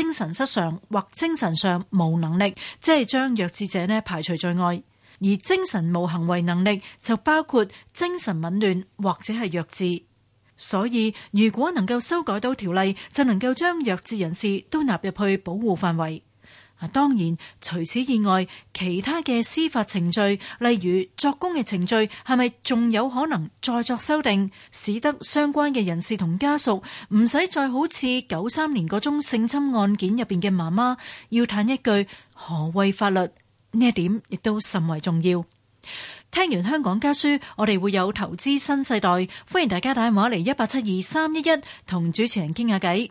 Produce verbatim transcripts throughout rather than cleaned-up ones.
精神失常或精神上無能力，即係將弱智者呢排除在外。而精神無行為能力就包括精神紊亂或者係弱智。所以如果能夠修改到條例，就能夠將弱智人士都納入去保護範圍。當然除此以外，其他嘅司法程序，例如作供嘅程序，係咪仲有可能再作修訂，使得相關嘅人士同家屬唔使再好似九三年嗰宗性侵案件入邊嘅媽媽要嘆一句何謂法律，呢一點亦都甚為重要。聽完香港家書，我哋會有投資新世代，歡迎大家打電話嚟一八七二三一一同主持人傾下偈。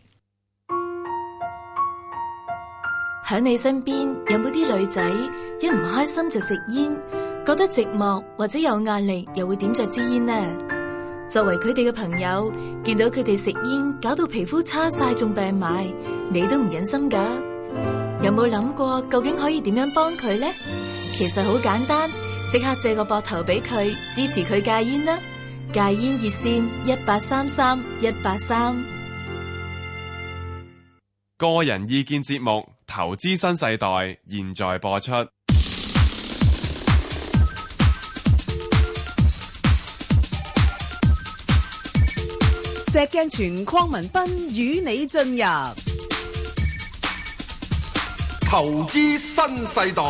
喺你身邊有冇啲女仔一唔開心就食煙，覺得寂寞或者有壓力又會點着支煙呢？作為佢哋嘅朋友，見到佢哋食煙搞到皮膚差晒仲病埋，你都唔忍心噶。有冇諗過究竟可以點樣幫佢呢？其實好簡單，即刻借個膊頭俾佢，支持佢戒煙啦！戒煙熱線一八三三一八三。 個人意見節目《投資新世代》現在播出。 石鏡泉鄺民彬與你進入投資新世代。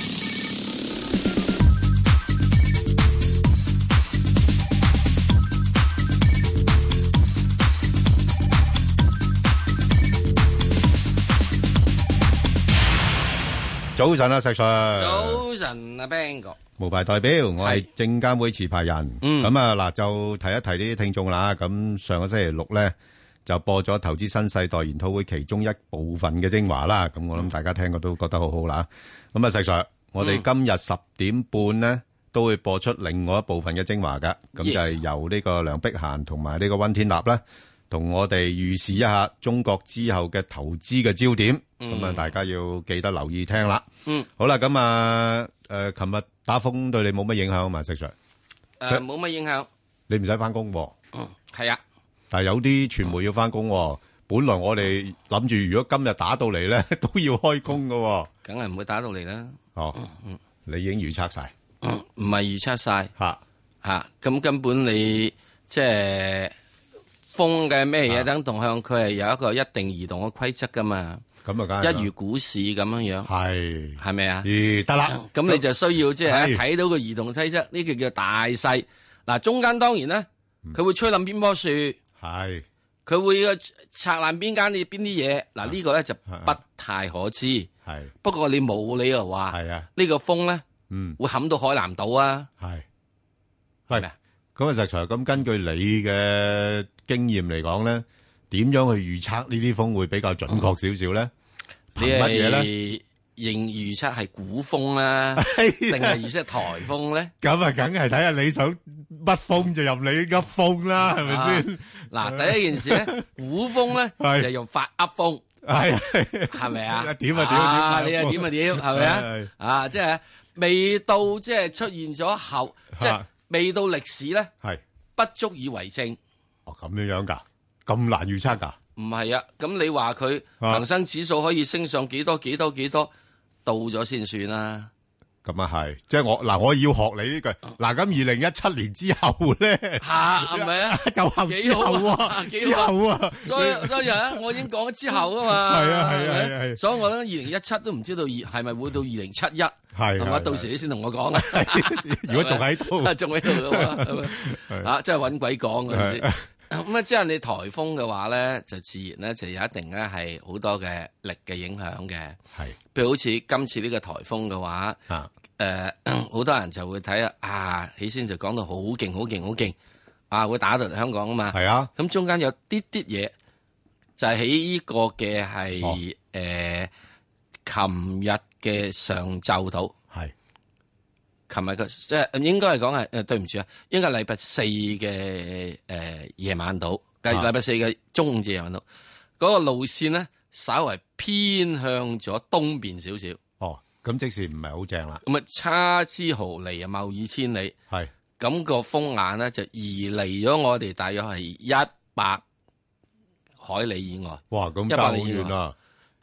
早晨啊，石 Sir。 早晨啊 ，Bang 哥。 無牌代表，我係證監會持牌人。咁啊嗱，就提一提呢啲聽眾啦。咁上個星期六咧，就播咗投資新世代研討會其中一部分嘅精華啦。咁我諗大家聽過都覺得好好啦。咁啊，石 Sir，我哋今日十點半咧都會播出另外一部分嘅精華噶。咁就係由呢個梁碧嫻同埋呢個溫天立咧，同我哋預示一下中國之後嘅投資嘅焦點。咁啊，大家要記得留意聽啦。 嗯， 好啦，咁啊，誒，琴日打風對你冇乜影響嘛，石 Sir？ 誒，冇乜影響。 你唔使翻工喎。 嗯，係啊。 但係有啲傳媒要翻工喎。本來我哋諗住，如果今日打到嚟咧，都要開工噶。 梗係唔會打到嚟啦。 哦，嗯，你已經預測晒。 嗯，唔係預測晒。 吓吓，咁根本你即係風嘅咩嘢等動向，佢係有一個一定移動嘅規則噶嘛。 咁啊，梗係一如股市咁樣樣， 係係咪啊？ 咦，得啦， 咁你就需要即係睇到個移動規則，呢個叫大勢。嗱，中間當然咧，佢會吹冧邊棵樹， 係佢會拆爛邊間邊啲嘢。嗱，呢個咧就不太可知。 係不過你冇理由話係啊， 呢個風咧， 嗯， 會冚到海南島啊。 係係咪啊？ 咁啊，石 Sir，咁根據你嘅經驗嚟講咧，點樣去預測呢啲風會比較準確少少咧？憑乜嘢咧？ 認預測係股風啦，定係預測台風咧？ 咁啊，梗係睇下你想乜風就入你噏風啦，係咪先？ 嗱，第一件事咧，股風咧就用發噏風， 係係咪啊？ 點啊點啊你啊點啊點，係咪啊？啊，即係未到即係出現咗後，即係未到歷史咧， 係不足以為證。 哦，咁樣樣噶，咁難預測噶？ 唔係啊，咁你話佢恒生指數可以升上幾多幾多幾多，到咗先算啦。 咁啊係，即係我嗱，我要學你呢句。嗱，咁二零一七年之後咧， 吓係咪啊？ 就後之後啊，之後啊， 所以所以啊，我已經講咗之後啊嘛。 係啊係啊係係。 所以我諗二零一七都唔知道二係咪會到二零七一，係係嘛？到時你先同我講啊。 如果仲喺度， 仲喺度噶嘛？啊，真係搵鬼講嗰陣時。咁啊，即係你台風嘅話咧，就自然咧就有一定咧係好多嘅力嘅影響嘅。 係， 譬如好似今次呢個台風嘅話，誒、啊，好、呃、多人就會睇啊，啊，起先就講到好勁、好勁、好勁，啊，會打到嚟香港啊嘛。 係啊， 咁中間有啲啲嘢，就係喺呢個嘅係誒，琴日嘅上晝度。係。琴日嘅即係應該係講係誒，對唔住啊，應該係禮拜四嘅誒夜晚到，計禮拜四嘅中午至夜晚到，嗰、那個路線咧稍為偏向咗東邊少少。 哦，咁即時唔係好正啦。 咁啊，差之毫釐啊，謬以千里。係咁、那個風眼咧就移離咗我哋大約係一百海里以外。 哇，咁差好遠啊！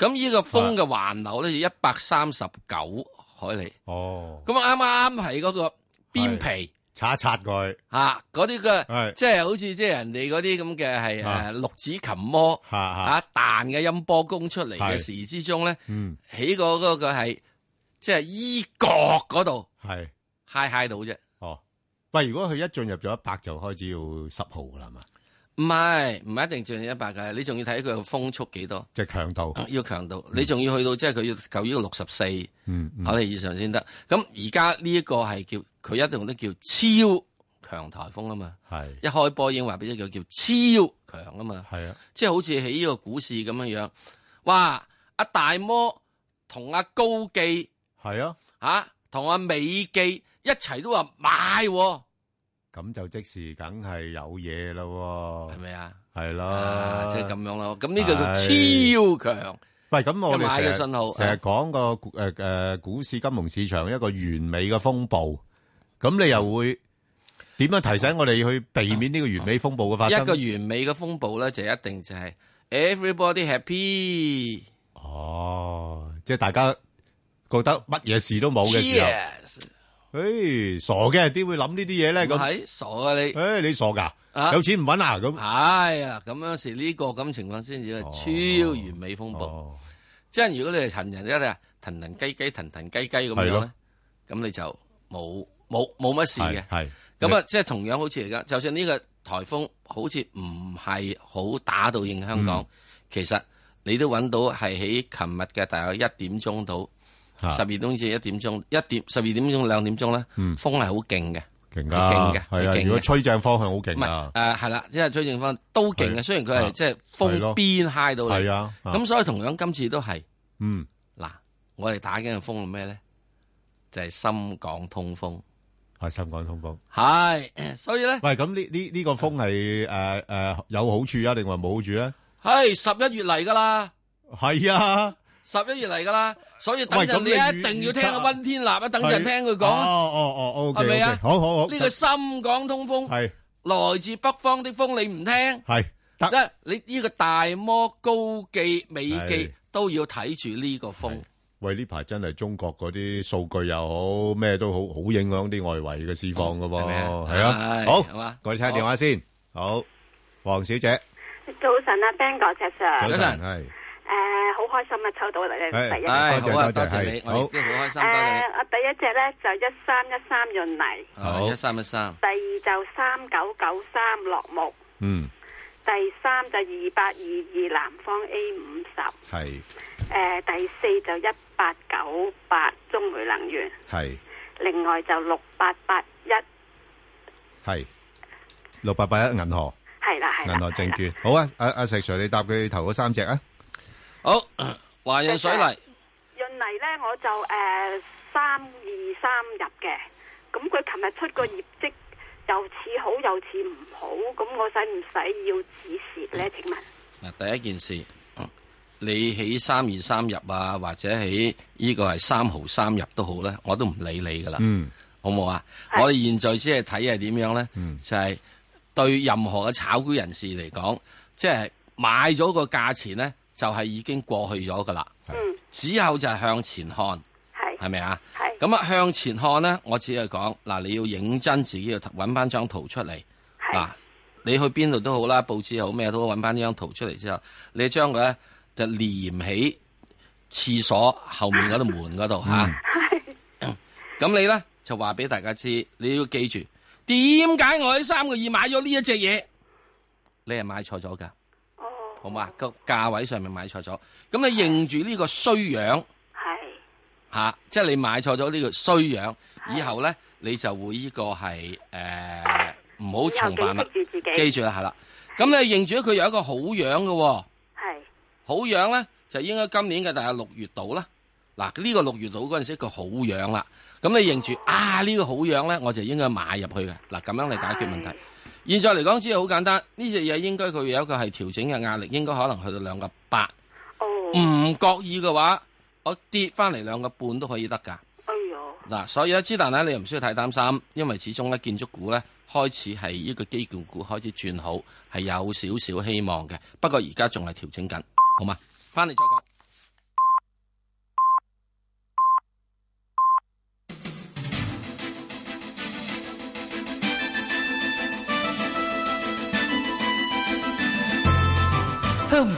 咁呢個風嘅環流咧就一百三十九海里。 哦， 咁啱啱係嗰個邊皮擦一擦佢嚇，嗰啲嘅即係好似即係人哋嗰啲咁嘅係誒六指琴魔嚇彈嘅音波功出嚟嘅時之中咧，起個嗰個係即係衣角嗰度係揩揩到啫。 哦，喂，如果佢一進入咗一百就開始要十號噶啦嘛？ 唔係，唔係一定進入一百嘅，你仲要睇佢個風速幾多， 即係強度， 要強度，你仲要去到即係佢要夠呢個六十四海里以上先得。咁而家呢一個係叫佢一定都叫超強颱風啊嘛，係一開波已經話俾你叫叫超強啊嘛，係啊，即係好似喺呢個股市咁樣樣，哇！阿大摩同阿高記係啊， 吓同阿美記一齊都話買。 咁就即時梗係有嘢咯， 係咪啊？ 係咯， 即係咁樣咯。咁呢個叫超強。 喂，咁我哋買嘅信號成日講個誒誒股市金融市場一個完美嘅風暴，咁你又會點樣提醒我哋去避免呢個完美風暴嘅發生？ 一個完美嘅風暴咧，就一定就係 everybody happy。 哦，即係大家覺得乜嘢事都冇嘅時候。誒，傻嘅，點會諗呢啲嘢咧？咁係傻啊你！ 誒，你傻噶？有錢唔搵啊？咁係啊，咁樣時呢個咁情況先至係超完美風暴。即係如果你係騰人一啊，騰騰雞雞，騰騰雞雞咁樣咧，咁你就冇冇冇乜事嘅。係咁啊，即係同樣好似而家，就算呢個颱風好似唔係好打到應香港，其實你都搵到係喺琴日嘅大約一點鐘到。十二點至一點鐘，一點十二點鐘兩點鐘咧，風係好勁嘅， 勁噶，勁嘅，係啊！如果吹正方向好勁啊， 誒係啦，因為吹正方向都勁嘅，雖然佢係即係風邊揩到嚟，係啊，咁所以同樣今次都係，嗯，嗱，我哋打緊嘅風係咩咧？就係深港通風，係深港通風，係，所以咧，喂，咁呢呢呢個風係誒誒有好處啊，定話冇好處咧？係十一月嚟噶啦，係啊。十一月嚟噶啦，所以等陣你一定要聽阿溫天立啊，等陣聽佢講啊。哦哦哦，係咪啊？好好好。呢個深港通風係來自北方的風，你唔聽係得。你呢個大摩、高記、美記都要睇住呢個風。喂，呢排真係中國嗰啲數據又好，咩都好好影響啲外圍嘅市況噶噃。係啊，好，我哋聽下電話先。好，黃小姐。早晨啊 ，Ben 哥，石 Sir。早晨係。誒，好開心啊！抽到嚟咧，第一，好啊，多謝你，我亦都好開心。誒，我第一隻咧就一三一三潤泥，好一三一三。第二就三九九三樂木，嗯。第三就二八二二南方 A 五十，係。誒，第四就一八九八中煤能源，係。另外就六八八一，係。六八八一銀河，係啦係。銀河證券，好啊！阿阿石 Sir，你答佢頭嗰三隻啊？好，華潤水泥。潤泥咧，我就誒三二三入嘅，咁佢琴日出個業績又似好又似唔好，咁我使唔使要止蝕咧？請問嗱，第一件事，你喺三二三入啊，或者喺呢個係三毫三入都好咧，我都唔理你噶啦，嗯，好唔好啊？我哋現在先係睇係點樣咧，嗯，就係對任何嘅炒股人士嚟講，即係買咗個價錢咧。就係已經過去咗噶啦，嗯，之後就係向前看，係係咪啊？係咁啊，向前看咧，我只係講嗱，你要認真自己要搵翻張圖出嚟，嗱，你去邊度都好啦，報紙好咩都好，搵翻呢張圖出嚟之後，你將佢咧就連起廁所後面嗰度門嗰度吓，咁你咧就話俾大家知，你要記住點解我喺三個二買咗呢一隻嘢，你係買錯咗噶。好嘛？個價位上面買錯咗，咁你認住呢個衰樣，係吓、啊，即係你買錯咗呢個衰樣，以後咧你就會呢個係誒唔好重犯啦。記住自己，記住啦，係啦。咁你認住佢有一個好樣嘅，係好樣咧，就應該今年嘅大概六月度啦。嗱、啊，呢、這個六月度嗰陣時個好樣啦，咁你認住啊呢、這個好樣咧，我就應該買入去嘅。嗱、啊，咁樣嚟解決問題。現在嚟講，只係好簡單。呢隻嘢應該佢有一個係調整嘅壓力，應該可能去到兩個八。哦，唔覺意嘅話，我跌翻嚟兩個半都可以得噶。哎呦！嗱，所以咧，之但咧，你又唔需要太擔心，因為始終咧，建築股咧開始係呢個基建股開始轉好，係有少少希望嘅。不過而家仲係調整緊，好嘛？翻嚟再講。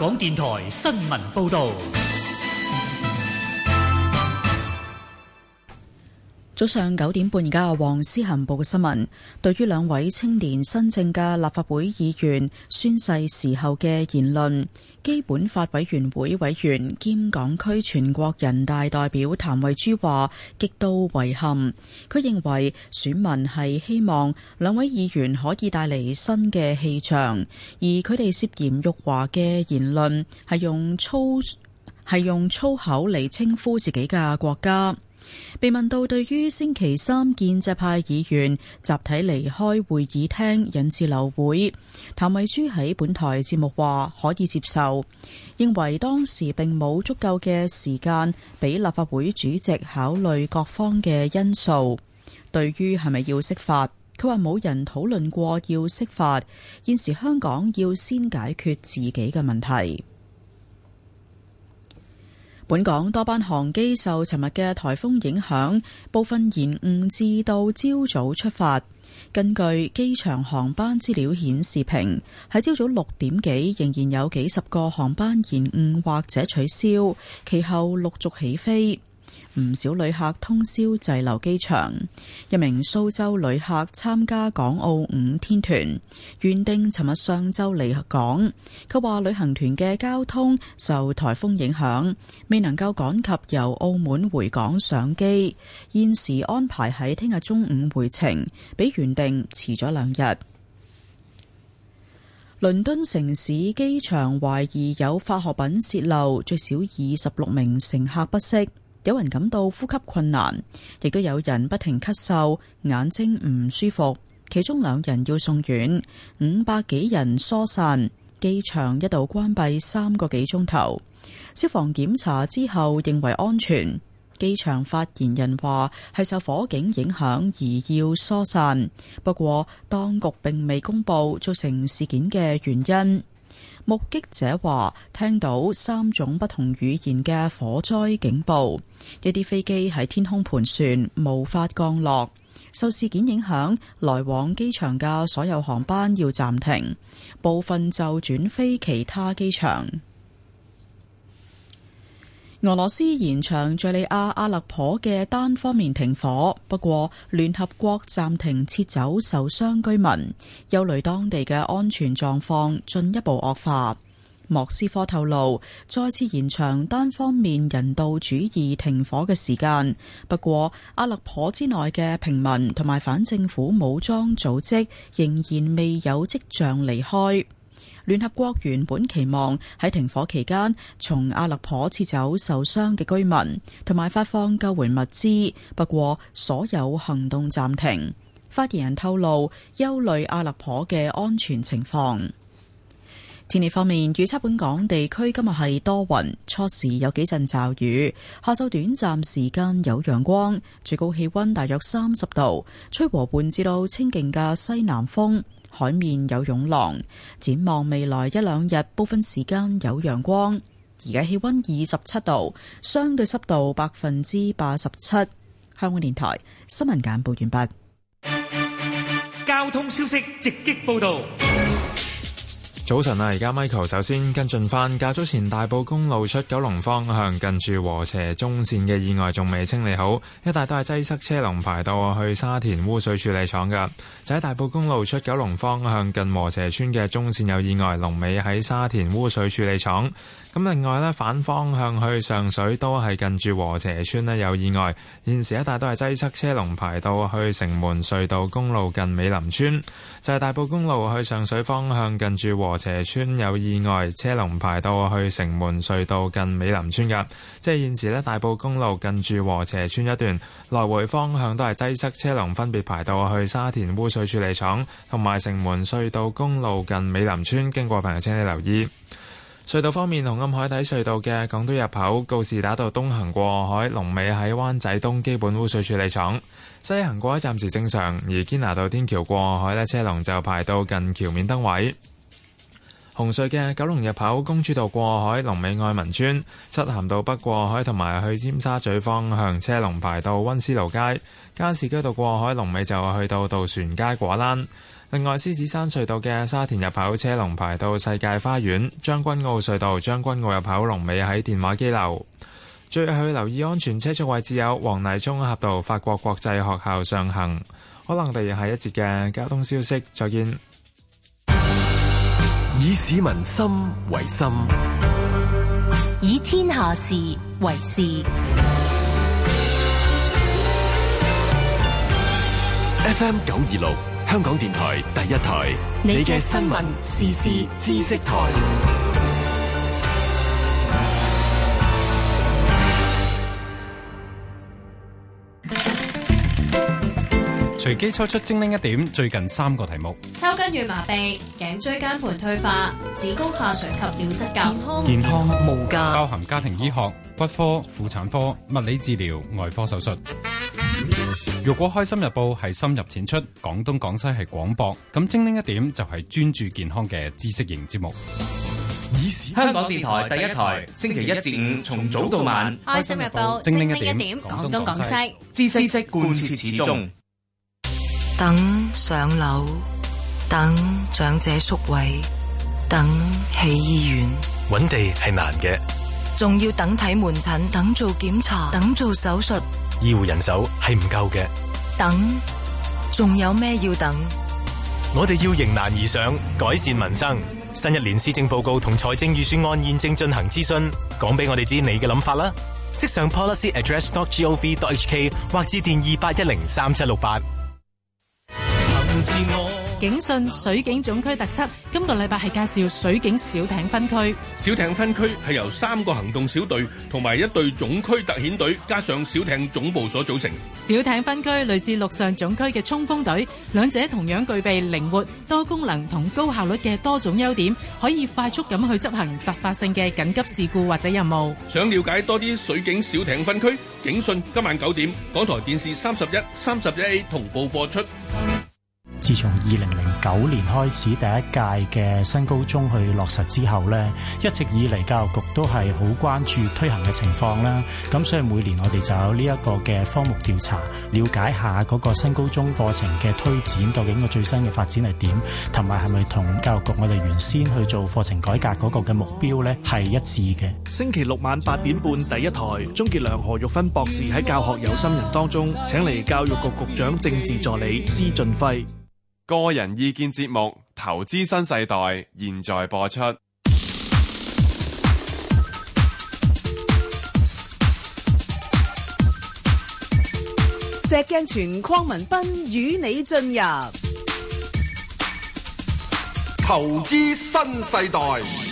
港電台新聞報道。 早上九點半，而家黃思涵報嘅新聞。對於兩位青年新政嘅立法會議員宣誓時候嘅言論，基本法委員會委員兼港區全國人大代表譚惠珠話極度遺憾。佢認為選民係希望兩位議員可以帶嚟新嘅氣象，而佢哋涉嫌辱華嘅言論係用粗係用粗口嚟稱呼自己嘅國家。被問到對於星期三建制派議員集體離開會議廳引致流會，譚惠珠喺本台節目話可以接受，認為當時並冇足夠嘅時間俾立法會主席考慮各方嘅因素。對於係咪要釋法，佢話冇人討論過要釋法，現時香港要先解決自己嘅問題。本港多班航機受尋日嘅颱風影響，部分延誤至到朝早出發。根據機場航班資料顯示屏，喺朝早六點幾仍然有幾十個航班延誤或者取消，其後陸續起飛。唔少旅客通宵滯留機場。一名蘇州旅客參加港澳五天團，原定尋日上晝離港。佢話旅行團嘅交通受颱風影響，未能夠趕及由澳門回港上機，現時安排喺聽日中午回程，比原定遲咗兩日。倫敦城市機場懷疑有化學品洩漏，最少二十六名乘客不適。有人感到呼吸困難，亦都有人不停咳嗽，眼睛唔舒服，其中兩人要送院，五百幾人疏散，機場一度關閉三個幾鐘頭。消防檢查之後認為安全，機場發言人話係受火警影響而要疏散，不過當局並未公布造成事件嘅原因。目擊者話聽到三種不同語言嘅火災警報，一啲飛機喺天空盤旋，無法降落。受事件影響，來往機場嘅所有航班要暫停，部分就轉飛其他機場。俄羅斯延長敘利亞阿勒頗嘅單方面停火，不過聯合國暫停撤走受傷居民，憂慮當地嘅安全狀況進一步惡化。莫斯科透露再次延長單方面人道主義停火嘅時間，不過阿勒頗之內嘅平民同埋反政府武裝組織仍然未有跡象離開。聯合國原本期望喺停火期間從阿勒頗撤走受傷嘅居民，同埋發放救援物資，不過所有行動暫停。發言人透露憂慮阿勒頗嘅安全情況。天氣方面，預測本港地區今日係多雲，初時有幾陣驟雨，下晝短暫時間有陽光，最高氣溫大約三十度，吹和緩至到清勁嘅西南風。海面有湧浪，展望未來一兩日，部分時間有陽光。而家氣溫二十七度，相對濕度百分之八十七。香港電台新聞簡報完畢。 交通消息直擊報道。 早晨啊，而家 Michael 首先跟進翻，較早前大埔公路出九龍方向近住禾輋中線嘅意外仲未清理好，一帶都係擠塞，車龍排到去沙田污水處理廠噶。就喺大埔公路出九龍方向近禾輋村嘅中線有意外，龍尾喺沙田污水處理廠。咁另外呢，反方向去上水都係近住禾輋村呢有意外，現時一帶都係擠塞，車龍排到去城門隧道公路近美林村。就係大埔公路去上水方向近住禾輋村有意外，車龍排到去城門隧道近美林村噶。即係現時呢，大埔公路近住禾輋村一段來回方向都係擠塞，車龍分別排到去沙田污水處理廠同埋城門隧道公路近美林村，經過朋友請你留意。隧道方面，紅磡海底隧道嘅港島入口告士打道東行過海，龍尾喺灣仔東基本污水處理廠；西行過海暫時正常，而堅拿道天橋過海呢，車龍就排到近橋面燈位。紅隧嘅九龍入口公主道過海，龍尾愛民村；漆咸道北過海同埋去尖沙咀方向，車龍排到溫思勞街；加士居道過海，龍尾就去到渡船街果欄。 另外，獅子山隧道嘅沙田入口車龍排到世界花園，將軍澳隧道將軍澳入口龍尾喺電話機樓。最後去留意安全車速位置有黃泥涌峽道法國國際學校上行。可能我哋下一節嘅交通消息，再見。 以市民心為心， 以天下事為事。 F M 九二六香港電台第一台，你嘅新聞時事知識台。 隨機抽出精靈一點，最近三個題目： 抽筋與麻痹、頸椎間盤退化、子宮下垂及尿失禁。 健康無價，包含家庭醫學、骨科、婦產科、物理治療、外科手術。如果開心日報係深入淺出，廣東廣西係廣博，咁精靈一點就係專注健康嘅知識型節目。 香港電台第一台，星期一至五從早到晚， 開心日報精靈一點，廣東廣西知識貫徹始終。 等上樓，等長者宿位，等起醫院， 揾地係難嘅， 仲要等睇門診，等做檢查，等做手術， 醫護人手係唔夠嘅， 等，仲有咩要等？ 我哋要迎難而上，改善民生。新一年施政報告同財政預算案現正進行諮詢，講俾我哋知你嘅諗法啦。即上 policy address dot gov dot h k 或致電二八一零三七六八。 警訊水警總區特輯，今個禮拜係介紹水警小艇分區。 小艇分區係由三個行動小隊同埋一隊總區特遣隊加上小艇總部所組成。 小艇分區類似陸上總區嘅衝鋒隊，兩者同樣具備靈活、多功能同高效率嘅多種優點，可以快速咁去執行突發性嘅緊急事故或者任務。 想了解多啲水警小艇分區，警訊今晚九點，港台電視三十一、三十一 A 同步播出。 自從二零零九年開始第一屆嘅新高中去落實之後呢，一直以嚟教育局都係好關注推行嘅情況啦。咁所以每年我哋就有呢一個嘅科目調查，了解下嗰個新高中課程嘅推展究竟個最新嘅發展係點，同埋係咪同教育局我哋原先去做課程改革嗰個嘅目標呢係一致嘅。 星期六晚八點半第一台，鍾傑良、何玉芬博士喺教學有心人當中請嚟教育局局長政治助理施俊輝。 個人意見節目《投資新世代》現在播出。 石鏡泉鄺民彬與你進入《 投資新世代》。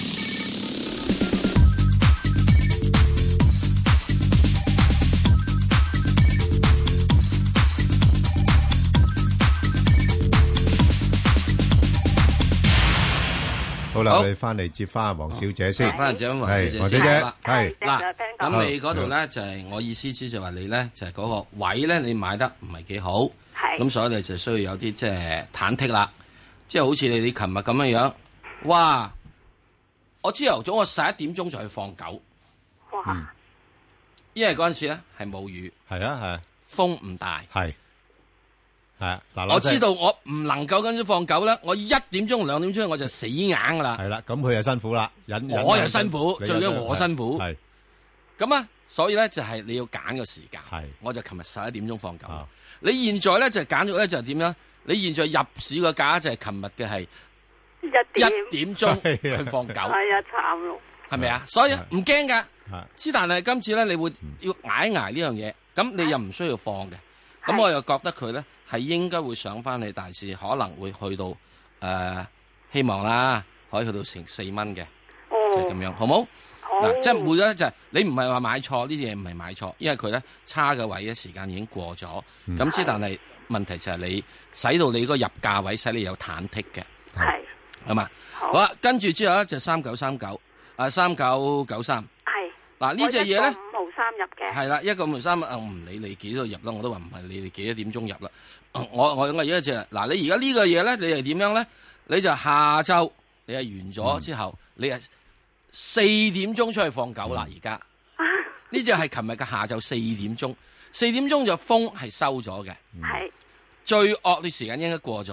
好啦，我哋翻嚟接翻黃小姐先。 翻嚟接翻黃小姐先。 黃小姐，係嗱，咁你嗰度咧就係我意思，即係話你咧就係嗰個位咧，你買得唔係幾好，咁所以你就需要有啲即係忐忑啦。即係好似你你琴日咁樣樣，哇！我朝頭早我十一點鐘就去放狗， 哇！ 因為嗰陣時咧係冇雨， 係啊係啊， 風唔大， 係。係嗱， 我知道我唔能夠跟住放狗啦，我一點鐘兩點鐘我就死硬噶啦。 係啦，咁佢又辛苦啦，忍我又辛苦，最緊要我辛苦。 係咁啊，所以咧就係你要揀個時間。 係， 我就琴日十一點鐘放狗。你現在咧就揀咗咧就係點樣？你現在入市個價就係琴日嘅係一點鐘去放狗。 係啊，慘咯。 係咪啊？所以唔驚噶。之但係今次咧，你會要挨一挨呢樣嘢，咁你又唔需要放嘅。咁我又覺得佢咧係應該會上翻去大市，可能會去到誒、呃，希望啦，可以去到成四蚊嘅，就係、是、咁樣，好冇？嗱、哦，即係每個就係、是、你唔係話買錯呢啲嘢，唔係買錯，因為佢咧差嘅位嘅時間已經過咗。咁、嗯、之但係問題就係你使到你嗰個入價位使你有忐忑嘅，係係嘛？好啦，跟住之後咧就三九三九，啊三九九三，係嗱呢隻嘢咧。 入嘅係啦，一個五三，我唔理你幾多入啦，我都話唔係你哋幾多點鐘入啦。我我我而家就嗱，你而家呢個嘢咧，你係點樣咧？你就下晝你係完咗之後，嗯、你係四點鐘出去放狗啦。而家呢只係琴日嘅下晝四點鐘，四點鐘就風係收咗嘅，係、嗯、最惡劣時間應該過咗。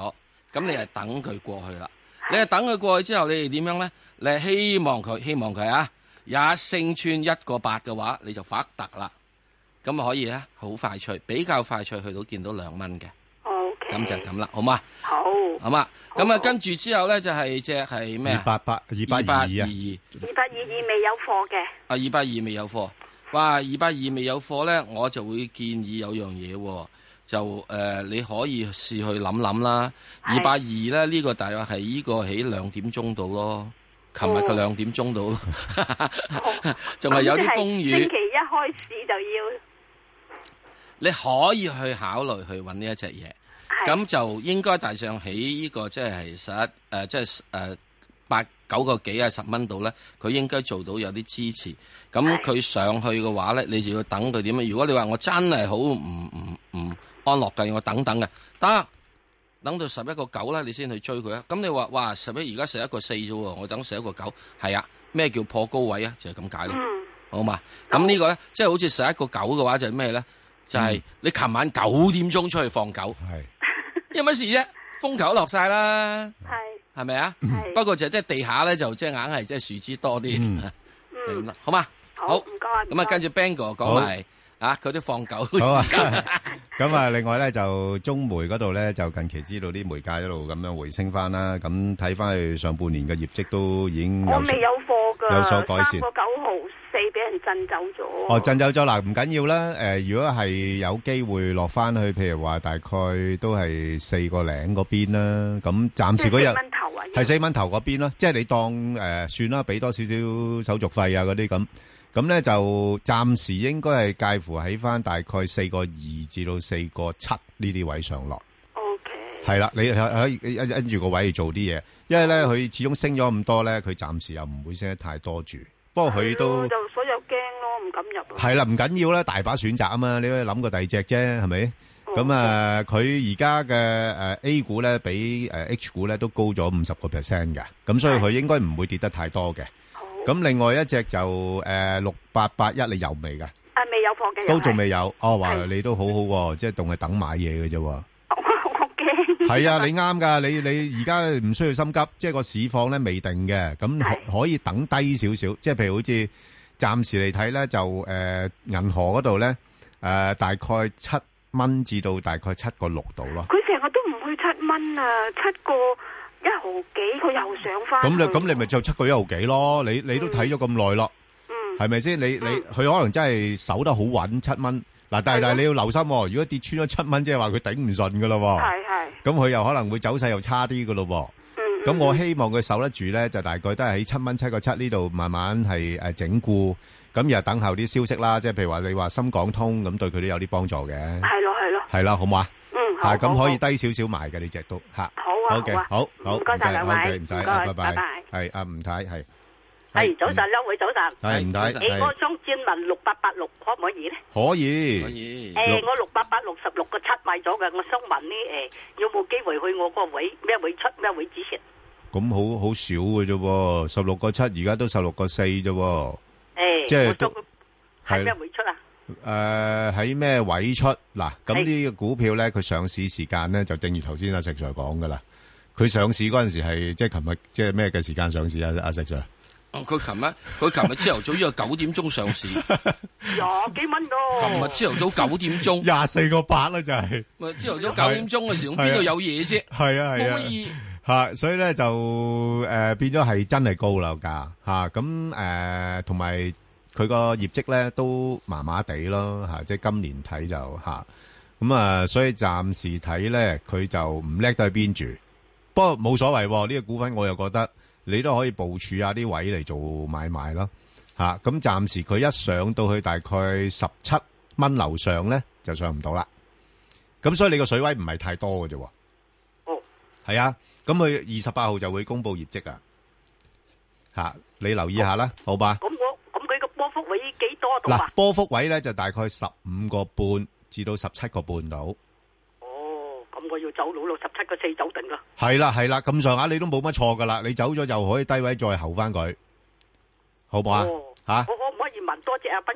咁你係等佢過去啦。你係等佢過去之後，你哋點樣咧？你係希望佢，希望佢啊，一升穿一個八嘅話，你就發特啦。咁啊可以咧，好快脆，比較快脆去到見到兩蚊嘅。 OK。 咁就係咁啦，好嘛？ 好。 好嘛？咁啊，跟住之後咧就係隻係咩啊？ 二八八二八二二啊。 二八二二未有貨嘅。 啊，二八二未有貨。哇，二八二未有貨咧，我就會建議有樣嘢喎。就誒、呃，你可以試去諗諗啦。二百二咧，呢、這個大約係呢個喺兩點鐘度咯。琴日嘅兩點鐘度，仲係有啲風雨。 星期一開始就要。 你可以去考慮去揾呢一隻嘢，咁就應該大上起呢、這個即係十一誒，即係誒八九個幾啊十蚊度咧，佢應該做到有啲支持。咁佢上去嘅話咧，你就要等佢點樣？如果你話我真係好唔唔唔安樂嘅，我等等嘅，得等到十一個九啦，你先去追佢啊！咁你話哇，十一而家十一個四啫喎，我等十一個九，係啊，咩叫破高位啊？就係咁解咯，好嘛？咁呢個咧，即係好似十一個九嘅話，就係咩咧？就係、是、你琴晚九點鐘出去放狗，係有乜事啫？風球落晒啦，係係咪啊？不過就即係地下咧，就即係硬係即係樹枝多啲，嗯嗯、好嘛？好，唔該。咁啊，跟住 Bang 哥講埋。啊！佢啲放狗好時間啊！咁啊，另外咧就中煤嗰度咧，就近期知道啲煤價一路咁樣回升翻啦。咁睇翻去上半年嘅業績都已經有我未有貨㗎， 有所改善。 三個九毫四俾人震走咗。 哦，震走咗嗱，唔緊要啦。誒、呃，如果係有機會落翻去，譬如話大概都係四個零嗰邊啦。咁暫時嗰日係四蚊頭嗰邊啦。即係你當誒、呃、算啦，俾多少少手續費啊嗰啲咁。咁咧就暫時應該係介乎喺翻大概四個二至到四個七呢啲位上落。O K。係啦，你可以跟住個位去做啲嘢，因為咧佢始終升咗咁多咧，佢暫時又唔會升得太多住。不過佢都就所有驚咯，唔敢入。 係啦，唔緊要啦，大把選擇啊嘛，你可以諗個第二隻啫，係咪？咁啊，佢而家嘅誒 A 股咧比誒 H 股咧都高咗五十個 percent 嘅，咁所以佢應該唔會跌得太多嘅。咁另外一隻就誒六八八一，你有未噶？ 啊，未有貨嘅， 都仲未有。哦，話你都好好喎，即係仲係等買嘢嘅啫。我好驚。係啊，你啱噶，你你而家唔需要心急，即係個市況咧未定嘅，咁可以等低少少。即係譬如好似暫時嚟睇咧，就誒銀河嗰度咧誒大概七蚊至到大概七個六度咯。 佢成日都唔去七蚊啊，七個。一毫幾，佢又上翻。咁你咁你咪就七個一毫幾咯？你你都睇咗咁耐咯，係咪先？你你佢可能真係守得好穩七蚊嗱，但係但係你要留心，如果跌穿咗七蚊，即係話佢頂唔順噶咯。係係。咁佢又可能會走勢又差啲噶咯。嗯。咁我希望佢守得住咧，就大概都係喺七蚊七個七呢度慢慢係誒整固，咁又等候啲消息啦。即係譬如話你話深港通咁，對佢都有啲幫助嘅。係咯係咯。係啦，好唔好啊？嗯。係咁可以低少少埋嘅呢隻都吓。好嘅，好好，唔該晒兩位，唔使，拜拜，係阿吳太，係， 係早晨，兩位早晨， 係吳太， 誒，我想轉問六八八六可唔可以咧？ 可以， 可以。誒，我六八八六十六個七買咗嘅，我想問呢，誒，有冇機會去我個位咩位出咩位止蝕？ 咁好好少嘅啫，十六個七，而家都十六個四啫。誒，即係都係咩位出啊？ 誒，喺咩位出？嗱，咁呢個股票咧，佢上市時間咧就正如頭先阿石 Sir 講噶啦。佢上市嗰陣時係即係琴日即係咩嘅時間上市啊？阿石 Sir， 佢琴日佢琴日朝頭早呢個九點鐘上市， 廿幾蚊咯。 琴日朝頭早九點鐘， 廿四個八啦，就係。 咪朝頭早九點鐘嘅時候，邊度有嘢啫？ 係啊係啊， 可以吓，所以咧就誒變咗係真係高樓價吓，咁誒同埋佢個業績咧都麻麻地咯吓，即係今年睇就吓，咁啊所以暫時睇咧佢就唔叻到去邊住。不過冇所謂，呢個股份我又覺得你都可以部署下啲位嚟做買賣咯，吓，咁暫時佢一上到去大概十七蚊樓上咧就上唔到啦，咁所以你個水位唔係太多嘅啫。哦，係啊，咁佢二十八號就會公布業績啊，吓，你留意下啦，好吧？ 咁我咁佢個波幅位幾多度啊？ 嗱，波幅位咧就大概十五個半至到十七個半度。 我要走佬咯，十七個四走定啦。 係啦係啦，咁上下你都冇乜錯噶啦，你走咗就可以低位再候翻佢，好唔好啊？吓， 我可唔可以問多隻阿斌哥？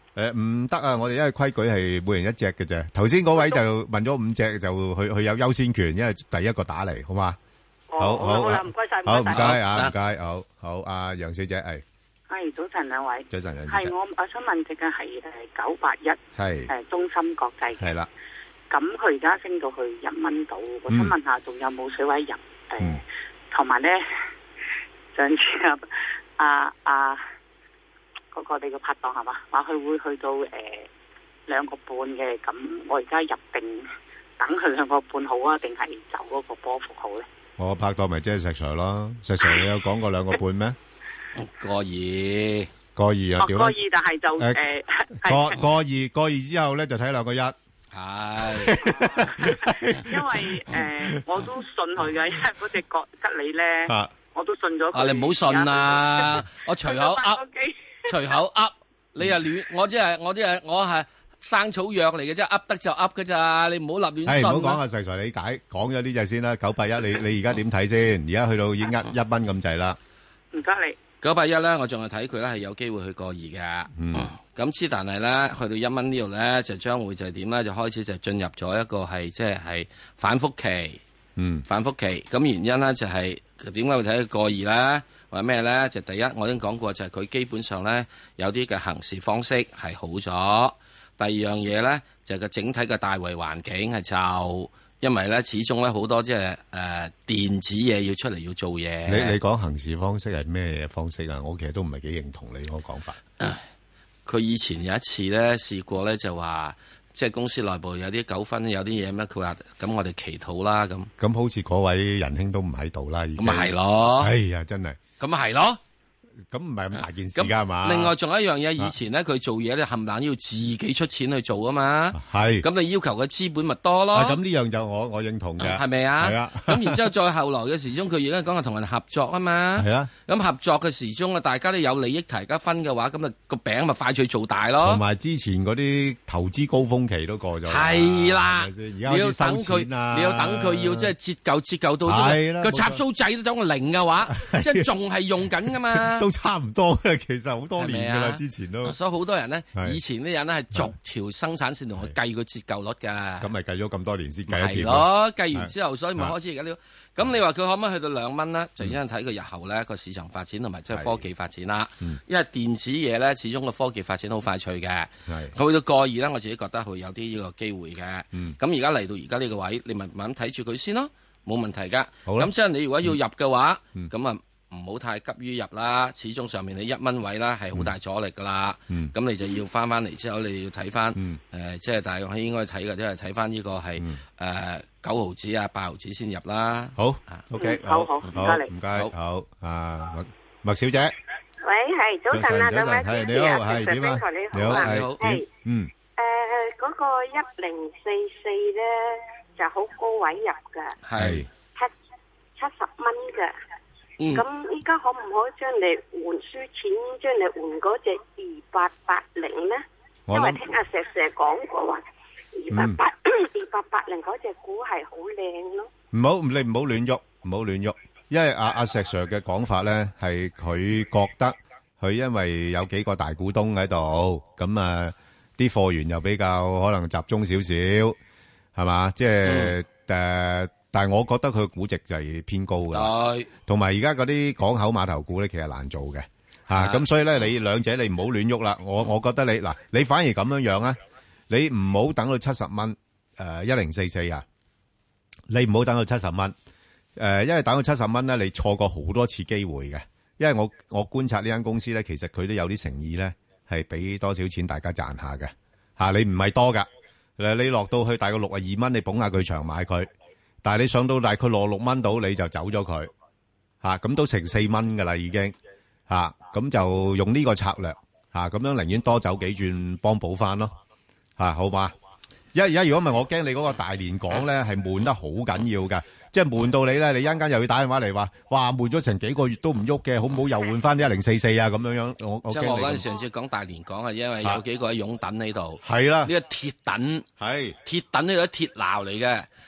誒唔得啊！我哋因為規矩係每人一隻嘅啫。頭先嗰位就問咗五隻，就佢佢有優先權，因為第一個打嚟，好嘛？好好好啦，唔該晒， 好唔該啊，唔該，好好。阿楊小姐係， 係早晨兩位， 早晨楊小姐， 係我我想問隻嘅係誒九八一， 係誒中芯國際， 係啦。 咁佢而家升到去一蚊度，我想問下仲有冇水位入？誒，同埋咧上次啊啊嗰個你個拍檔係嘛，話佢會去到誒兩個半嘅，咁我而家入定等佢兩個半好啊，定係走嗰個波幅好咧？ 我拍檔咪即係石 Sir 咯，石 Sir 你有講過兩個半咩？ 個二， 個二啊， 個二，但係就誒個個二個二之後咧就睇兩個一。 係， 因為誒我都信佢嘅，因為嗰隻國吉利咧，我都信咗佢。 啊，你唔好信啊！我隨口噏，隨口噏，你又亂，我即係我即係我係生草藥嚟嘅啫，噏得就噏㗎咋，你唔好立亂信。 係唔好講啊！石 Sir 理解，講咗呢隻先啦，九八一，你你而家點睇先？而家去到已經一一蚊咁滯啦。 唔該你。 九八一咧，我仲係睇佢咧係有機會去過二嘅。嗯。咁之但係咧，去到一蚊呢度咧，就將會就係點咧？就開始就進入咗一個係即係係反覆期。 嗯。反覆期。咁原因咧就係點解會睇佢過二咧？或者咩咧？就第一，我已經講過，就係佢基本上咧有啲嘅行事方式係好咗。第二樣嘢咧就係個整體嘅大圍環境係就。因為咧，始終咧好多即係誒電子嘢要出嚟要做嘢。 你你講行事方式係咩方式啊？我其實都唔係幾認同你嗰個講法。 佢以前有一次咧試過咧就話，即係公司內部有啲糾紛，有啲嘢咩？佢話咁我哋祈禱啦咁。 咁好似嗰位仁兄都唔喺度啦，已經。 咁咪係咯。 哎呀，真係。 咁咪係咯。 咁唔係咁大件事㗎係嘛？ 另外仲有一樣嘢，以前咧佢做嘢咧冚唪唥要自己出錢去做啊嘛。 係。咁你要求嘅資本咪多咯？ 咁呢樣就我我認同嘅。 係咪啊？ 係啊。 咁然之後再後來嘅時鐘，佢而家講係同人合作啊嘛。 係啊。 咁合作嘅時鐘啊，大家都有利益大家分嘅話，咁啊個餅咪快脆做大咯。 同埋之前嗰啲投資高峰期都過咗。 係啦。 你要等佢，你要等佢要即係折舊折舊到啫嘛。個插蘇仔都走個零嘅話，即係仲係用緊噶嘛。 都差唔多。其實好多年噶啦，之前都， 所以好多人咧，以前啲人咧係逐條生產線同佢計個折舊率噶。 咁咪計咗咁多年先計一掂咯。計完之後，所以咪開始而家呢？咁你話佢可唔可以去到兩蚊咧？就因為睇佢日後咧個市場發展同埋即係科技發展啦。因為電子嘢咧，始終個科技發展好快脆嘅。佢去到過二咧，我自己覺得會有啲呢個機會嘅。咁而家嚟到而家呢個位，你咪慢慢睇住佢先咯，冇問題噶。咁即係你如果要入嘅話，咁啊。唔好太急於入啦，始終上面你一蚊位啦係好大阻力噶啦，咁、嗯、你就要翻翻嚟之後，你要睇翻誒，即係大約應該睇嘅，即係睇翻呢個係誒九毫子啊八毫子先入啦。 好 ，OK， 好好，唔該你， 唔該，好啊，麥麥小姐， 喂，係早晨啊，兩位主持啊， 係點啊？ 你好， 你好，係嗯， 誒嗰個一零四四咧就好高位入㗎， 係七七十蚊㗎。咁依家可唔可以將你換輸錢，將你換嗰隻二八八零咧？因為聽阿石 Sir 講過話，二八八二八八零嗰隻股係好靚咯。 唔好，你唔好亂喐，唔好亂喐，因為阿阿石 Sir 嘅講法咧，係佢覺得佢因為有幾個大股東喺度，咁啊啲貨源又比較可能集中少少，係嘛？即係誒。但係我覺得佢估值就係偏高㗎，同埋而家嗰啲港口碼頭股咧，其實難做嘅嚇，咁所以咧你兩者你唔好亂喐啦。我我覺得你嗱，你反而咁樣樣啊，你唔好等到七十蚊誒一零四四啊，你唔好等到七十蚊誒，因為等到七十蚊咧，你錯過好多次機會嘅。因為我我觀察呢間公司咧，其實佢都有啲誠意咧，係俾多少錢大家賺下嘅嚇，你唔係多㗎誒，你落到去大概六十二蚊，你捧下佢場買佢。但係你上到大概落六蚊到，你就走咗佢，吓咁都成四蚊噶啦，已經吓咁就用呢個策略吓，咁樣寧願多走幾轉，幫補翻咯吓，好嘛？一而家如果唔係，我驚你嗰個大連港咧係悶得好緊要噶，即係悶到你咧，你一陣間又要打電話嚟話，哇悶咗成幾個月都唔喐嘅，好唔好又換翻啲一零四四啊？咁樣樣，我我即係我嗰陣上次講大連港啊，因為有幾個喺擁躉喺度， 係啦， 呢個鐵躉係鐵躉呢個鐵錨嚟嘅。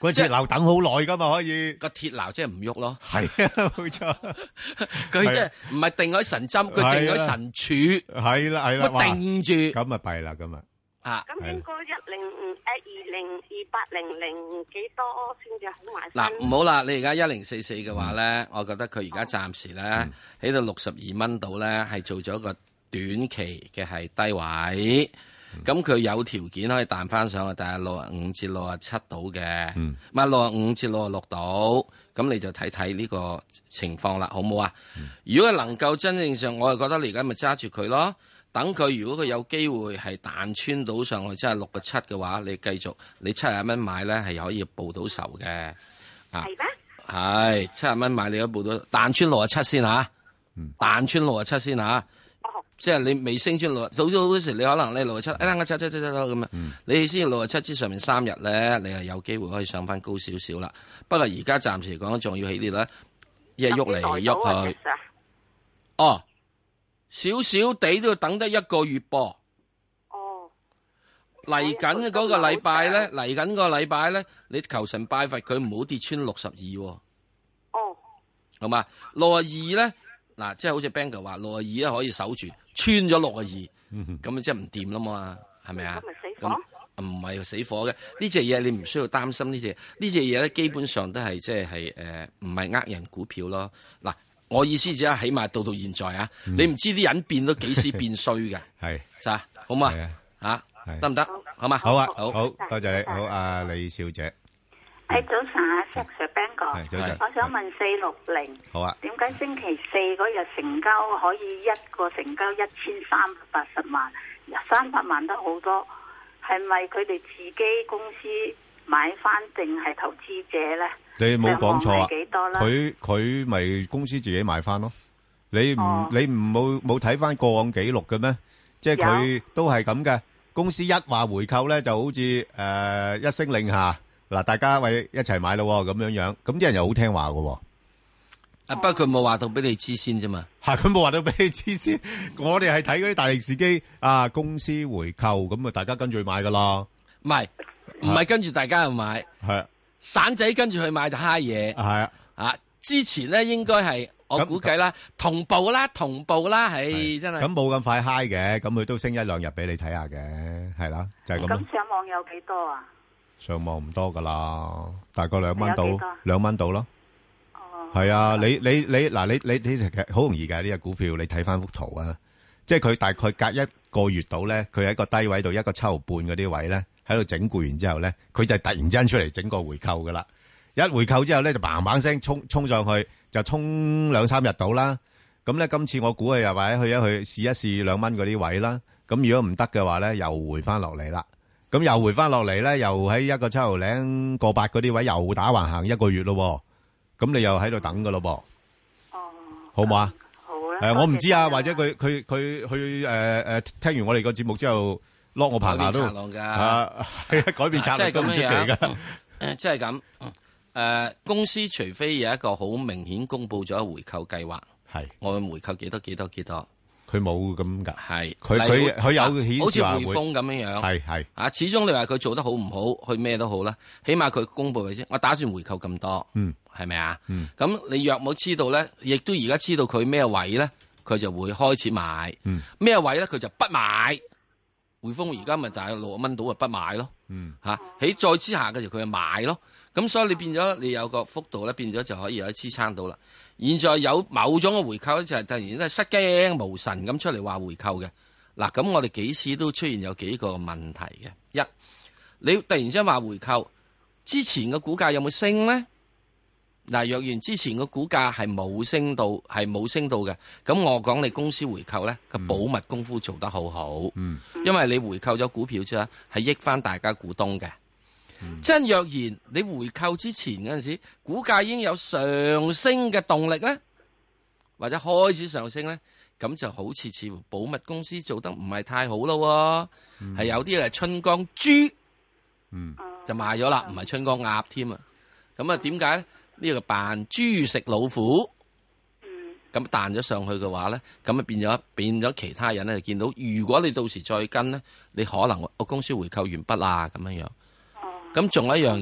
個鐵樓等好耐噶嘛，可以個鐵樓即係唔喐咯。 係啊，冇錯。 佢即係唔係定喺神針，佢定喺神柱。 係啦係啦， 定住。 咁啊弊啦，咁啊。 啊。 咁應該一零誒二零二八零零幾多先至好買？ 嗱，唔好啦，你而家一零四四嘅話咧，嗯、我覺得佢而家暫時咧喺度六十二蚊度咧，係做咗一個短期嘅係低位。咁佢、嗯、有條件可以彈翻上去，但係六啊五至六啊七度嘅，唔係六啊五至六啊六度。咁你就睇睇呢個情況啦，好唔好啊？嗯、如果能夠真正上，我係覺得你而家咪揸住佢咯。等佢，如果佢有機會係彈穿到上去，即係六個七嘅話，你繼續你七十蚊買咧，係可以報到仇嘅。啊，係咩？係七十蚊買你都報到彈穿六啊七先嚇，彈穿六啊七先嚇。即係你未升穿六，早早嗰時你可能你六啊七，哎我七七七七咁啊，你先六啊七之上面三日咧，你係有機會可以上翻高少少啦。不過而家暫時嚟講，仲要起呢度咧，一係喐嚟喐去。哦。少少地都要等得一個月噃。哦。嚟緊嘅嗰個禮拜咧，嚟緊個禮拜咧，你求神拜佛佢唔好跌穿六十二。哦。好嘛，六啊二咧，嗱，即係好似 Bang 哥話，六啊二咧可以守住，穿咗六啊二，咁咪即係唔掂啦嘛，係咪啊？咁咪死火？唔係死火嘅，呢隻嘢你唔需要擔心呢隻，呢隻嘢咧基本上都係即係係誒，唔係呃人股票咯，嗱。我意思就係，起碼到到現在啊，嗯、你唔知啲人變到幾時變衰嘅，係，咋，好嘛？吓，得唔得？好嘛？ 好啊，好，好多謝你，好啊，李小姐。 誒，早晨啊 Sir Ben 哥， 早晨。 我想問四六零， 好啊，點解星期四嗰日成交可以一個成交一千三百八十萬，三百萬得好多，係咪佢哋自己公司買翻定係投資者咧？ 你冇講錯啊！佢佢咪公司自己買翻咯？你唔、哦、你唔冇冇睇翻過往記錄嘅咩？即係佢都係咁嘅。公司一話回購咧，就好似誒、呃、一聲令下嗱，大家喂一齊買咯咁樣樣。咁啲人又好聽話嘅。 啊，不過佢冇話到俾你知先啫嘛。 係佢冇話到俾你知先。我哋係睇嗰啲大力士機啊，公司回購咁啊，大家跟住買噶啦。 唔係唔係跟住大家去買係。散仔跟住去買就蝦嘢，係啊，啊之前咧應該係我估計啦，同步啦，同步啦，係真係。咁冇咁快蝦嘅，咁佢都升一兩日俾你睇下嘅，係啦，就係咁。 咁上網有幾多啊？ 上網唔多噶啦，大概兩蚊到，兩蚊到咯。哦。係啊，你你你嗱，你你你其實好容易嘅呢隻股票，你睇翻幅圖啊，即係佢大概隔一個月到咧，佢喺個低位度一個七毫半嗰啲位咧。喺度整固完之後咧，佢就突然之間出嚟整個回購噶啦。一回購之後咧，就嘭嘭聲衝衝上去，就衝兩三日到啦。咁咧，今次我估佢又或者去一去試一試兩蚊嗰啲位啦。咁如果唔得嘅話咧，又回翻落嚟啦。咁又回翻落嚟咧，又喺一個七毫零個八嗰啲位又打橫行一個月咯。咁你又喺度等噶咯噃。哦。好唔好啊？好啦。誒，我唔知啊，或者佢佢佢去誒誒聽完我哋個節目之後。落我棚牙都啊，改變策略都唔出奇噶。 誒，即係咁。誒，公司除非有一個好明顯公布咗回購計劃，係我會回購幾多幾多幾多。 佢冇咁噶。係佢佢佢有顯示好似匯豐咁樣樣。係係啊，始終你話佢做得好唔好，去咩都好啦。起碼佢公布嘅先，我打算回購咁多。嗯，係咪啊？嗯。咁你若冇知道咧，亦都而家知道佢咩位咧，佢就會開始買。嗯。咩位咧，佢就不買。匯豐而家咪就係六蚊到啊，不買咯。嗯，吓喺再之下嘅時候佢就買咯。咁所以你變咗你有個幅度咧，變咗就可以有支撐到啦。現在有某種嘅回購咧，就係突然間失驚無神咁出嚟話回購嘅。嗱，咁我哋幾次都出現有幾個問題嘅。一，你突然之間話回購，之前嘅股價有冇升咧？嗱，若然之前個股價係冇升到，係冇升到嘅，咁我講你公司回購咧個保密功夫做得好好，嗯，因為你回購咗股票之後係益翻大家股東嘅。即係、嗯、若然你回購之前嗰陣時，股價已經有上升嘅動力咧，或者開始上升咧，咁就好似似乎保密公司做得唔係太好咯，係、嗯、有啲係春江豬，嗯，就賣咗啦，唔係春江鴨添啊，咁啊點解咧？呢個扮豬食老虎，咁彈咗上去嘅話咧，咁啊變咗變咗其他人咧就見到，如果你到時再跟咧，你可能個公司回購完畢啦咁樣樣。咁仲有一樣嘢，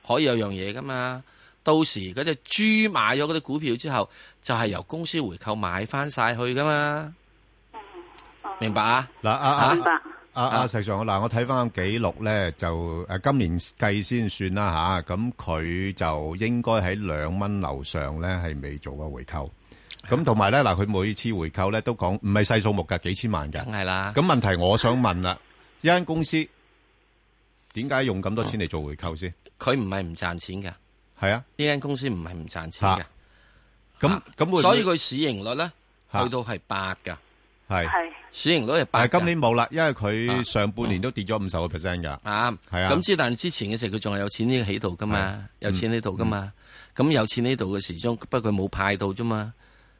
可以有樣嘢噶嘛。到時嗰隻豬買咗嗰啲股票之後，就係由公司回購買翻晒去噶嘛。明白啊？ 嗱，阿阿阿阿石 Sir，嗱，我睇翻個記錄咧，就誒今年計先算啦吓，咁佢就應該喺兩蚊樓上咧係未做過回購。咁同埋咧，嗱，佢每次回購咧都講唔係細數目噶，幾千萬噶。 梗係啦。 咁問題我想問啦，一間公司點解用咁多錢嚟做回購先？ 佢唔係唔賺錢噶。 係啊， 呢間公司唔係唔賺錢嘅。 咁咁， 所以佢市盈率咧去到係八噶。 係市盈率係八。 但係今年冇啦，因為佢上半年都跌咗五十個 percent 噶。 啱，係啊。咁之但之前嘅時候，佢仲係有錢呢喺度噶嘛，有錢喺度噶嘛。咁有錢喺度嘅時鐘，不過佢冇派到啫嘛。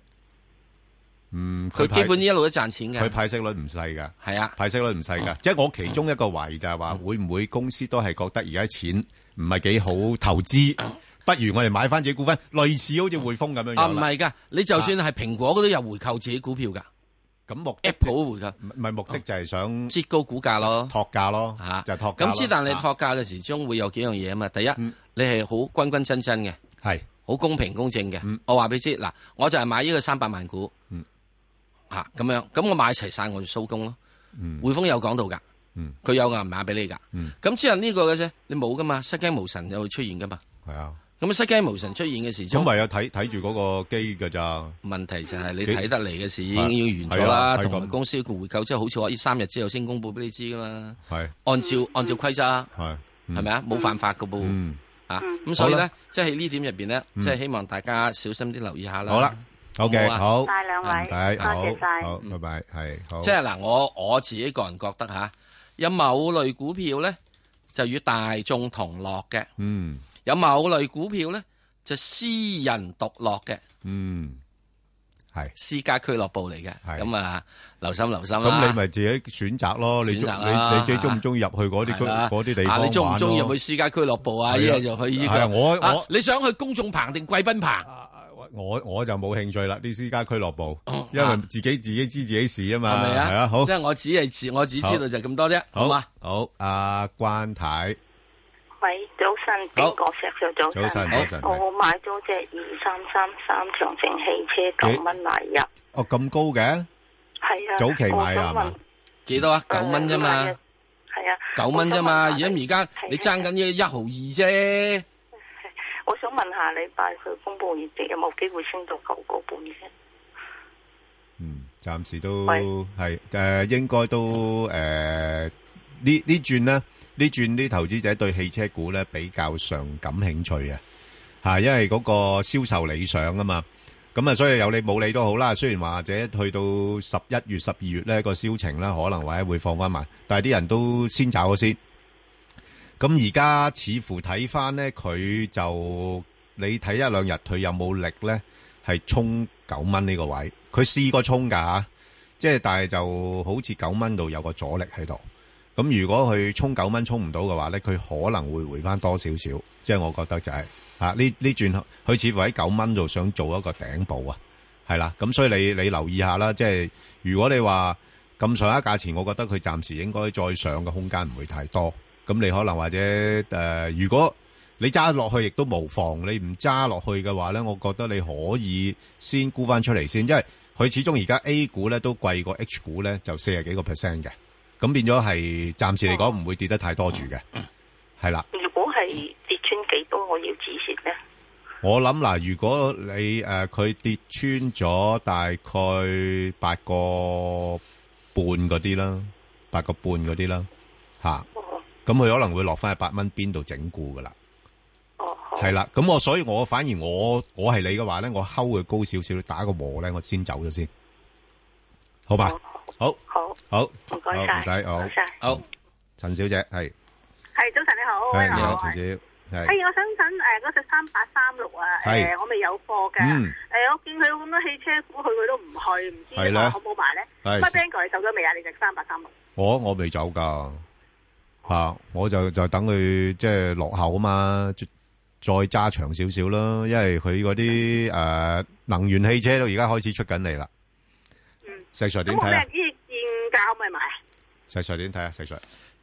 嗯， 佢基本一路都賺錢嘅。 佢派息率唔細噶。 係啊， 派息率唔細噶。即係我其中一個懷疑就係話，會唔會公司都係覺得而家錢唔係幾好投資，不如我哋買翻自己股份，類似好似匯豐咁樣樣。 啊，唔係噶，你就算係蘋果嗰都有回購自己股票噶。 咁目 Apple 回購， 唔係目的就係想折高股價咯， 托價咯，吓就係托價。 咁之但你托價嘅時鐘會有幾樣嘢啊嘛？第一，你係好均均真真嘅， 係好公平公正嘅。我話俾你知，嗱，我就係買呢個三百萬股，吓咁樣，咁我買齊晒我就收工咯。匯豐有講到噶，佢有銀碼俾你噶。咁之後呢個嘅啫，你冇噶嘛，失驚無神就會出現噶嘛。 係啊。 咁失驚無神出現嘅時， 咁唯有睇睇住嗰個機㗎咋？ 問題就係你睇得嚟嘅事已經要完咗啦，同埋公司個回購即係好似話呢三日之後先公佈俾你知噶嘛。係按照按照規則，係係咪啊？冇犯法噶噃。啊咁所以咧，即係呢點入邊咧，即係希望大家小心啲留意下啦。好啦 ，OK，好， 晒兩位， 唔使， 多謝晒， 好，拜拜，係好。 即係嗱，我我自己個人覺得吓，有某類股票咧就與大眾同樂嘅。 嗯。 有某類股票咧，就私人獨樂嘅， 嗯，係私家俱樂部嚟嘅，咁啊，留心留心啦。 咁你咪自己選擇咯，你中你你自己中唔中意入去嗰啲嗰啲地方玩咯？ 你中唔中意入去私家俱樂部啊？一係就去呢個。我我你想去公眾棚定貴賓棚？ 我我就冇興趣啦，啲私家俱樂部，因為自己自己知自己事啊嘛， 係咪啊？ 係啊，好。 即係我只係知，我只知道就咁多啫，好嘛？ 好，阿關太。 喂，早晨，邊個石上早晨？ 早晨，早晨。 我買咗隻二三三三長城汽車九蚊買入。 哦，咁高嘅？ 係啊。 早期買啊嘛？ 幾多啊？九蚊啫嘛。 係啊。 九蚊啫嘛，而家而家你爭緊呢一毫二啫。 我想問下禮拜佢公布業績有冇機會升到九個半先？ 嗯，暫時都係誒，應該都誒呢呢轉咧。呢轉啲投資者對汽車股咧比較上感興趣啊，嚇，因為嗰個銷售理想啊嘛，咁啊，所以有理冇理都好啦。雖然或者去到十一月、十二月咧個銷情咧可能或者會放翻埋，但係啲人都先找咗先。咁而家似乎睇翻咧，佢就你睇一兩日佢有冇力咧，係衝九蚊呢個位。佢試過衝㗎嚇，即係但係就好似九蚊度有個阻力喺度。咁如果佢衝九蚊衝唔到嘅話咧，佢可能會回翻多少少，即係我覺得就係嚇呢呢轉，佢似乎喺九蚊度想做一個頂部啊，係啦，咁所以你你留意下啦，即係如果你話咁上下價錢，我覺得佢暫時應該再上嘅空間唔會太多，咁你可能或者誒、呃，如果你揸落去亦都無妨，你唔揸落去嘅話咧，我覺得你可以先沽翻出嚟先，因為佢始終而家 A 股咧都貴過 H 股咧，就四十幾個 percent 嘅。咁變咗係暫時嚟講唔會跌得太多住嘅，係啦。 如果係跌穿幾多，我要止蝕咧？ 我諗嗱，如果你誒佢、呃、跌穿咗大概八個半嗰啲啦，八個半嗰啲啦，吓、啊，咁佢、哦、可能會落翻去八蚊邊度整固噶啦。哦，係啦。咁我所以我反而我我係你嘅話咧，我睺佢高少少，打個和咧，我先走咗先，好吧？哦好， 好， 好， 唔該晒， 唔使，好， 好， 陳小姐係， 係早晨你好， 係你好，陳小姐，係， 係我想問誒嗰隻三八三六啊，誒我未有貨嘅，誒我見佢咁多汽車股，佢佢都唔去，唔知我好唔好買咧？乜 bank 佢走咗未啊？你隻三八三六？ 我我未走噶，吓，我就就等佢即係落後啊嘛，再揸長少少啦，因為佢嗰啲誒能源汽車都而家開始出緊嚟啦。嗯，石 Sir 點睇啊？ 現價咪買？ 石 Sir 點睇啊？石 Sir，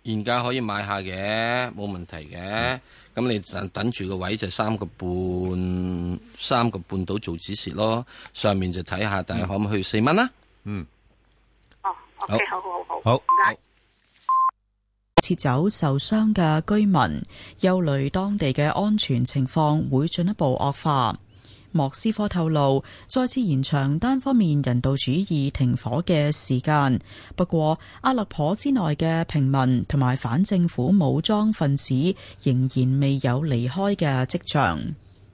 現價可以買下嘅，冇問題嘅。咁、嗯、你等等住個位就三個半，三個半到做止蝕咯。上面就睇下，但係可唔可以去四蚊啦？ 嗯。 哦，OK，好好好， 好， 唔該。 撤走受傷嘅居民，憂慮當地嘅安全情況會進一步惡化。莫斯科透露再次延長單方面人道主義停火嘅時間，不過阿勒頗之內嘅平民同埋反政府武裝分子仍然未有離開嘅跡象。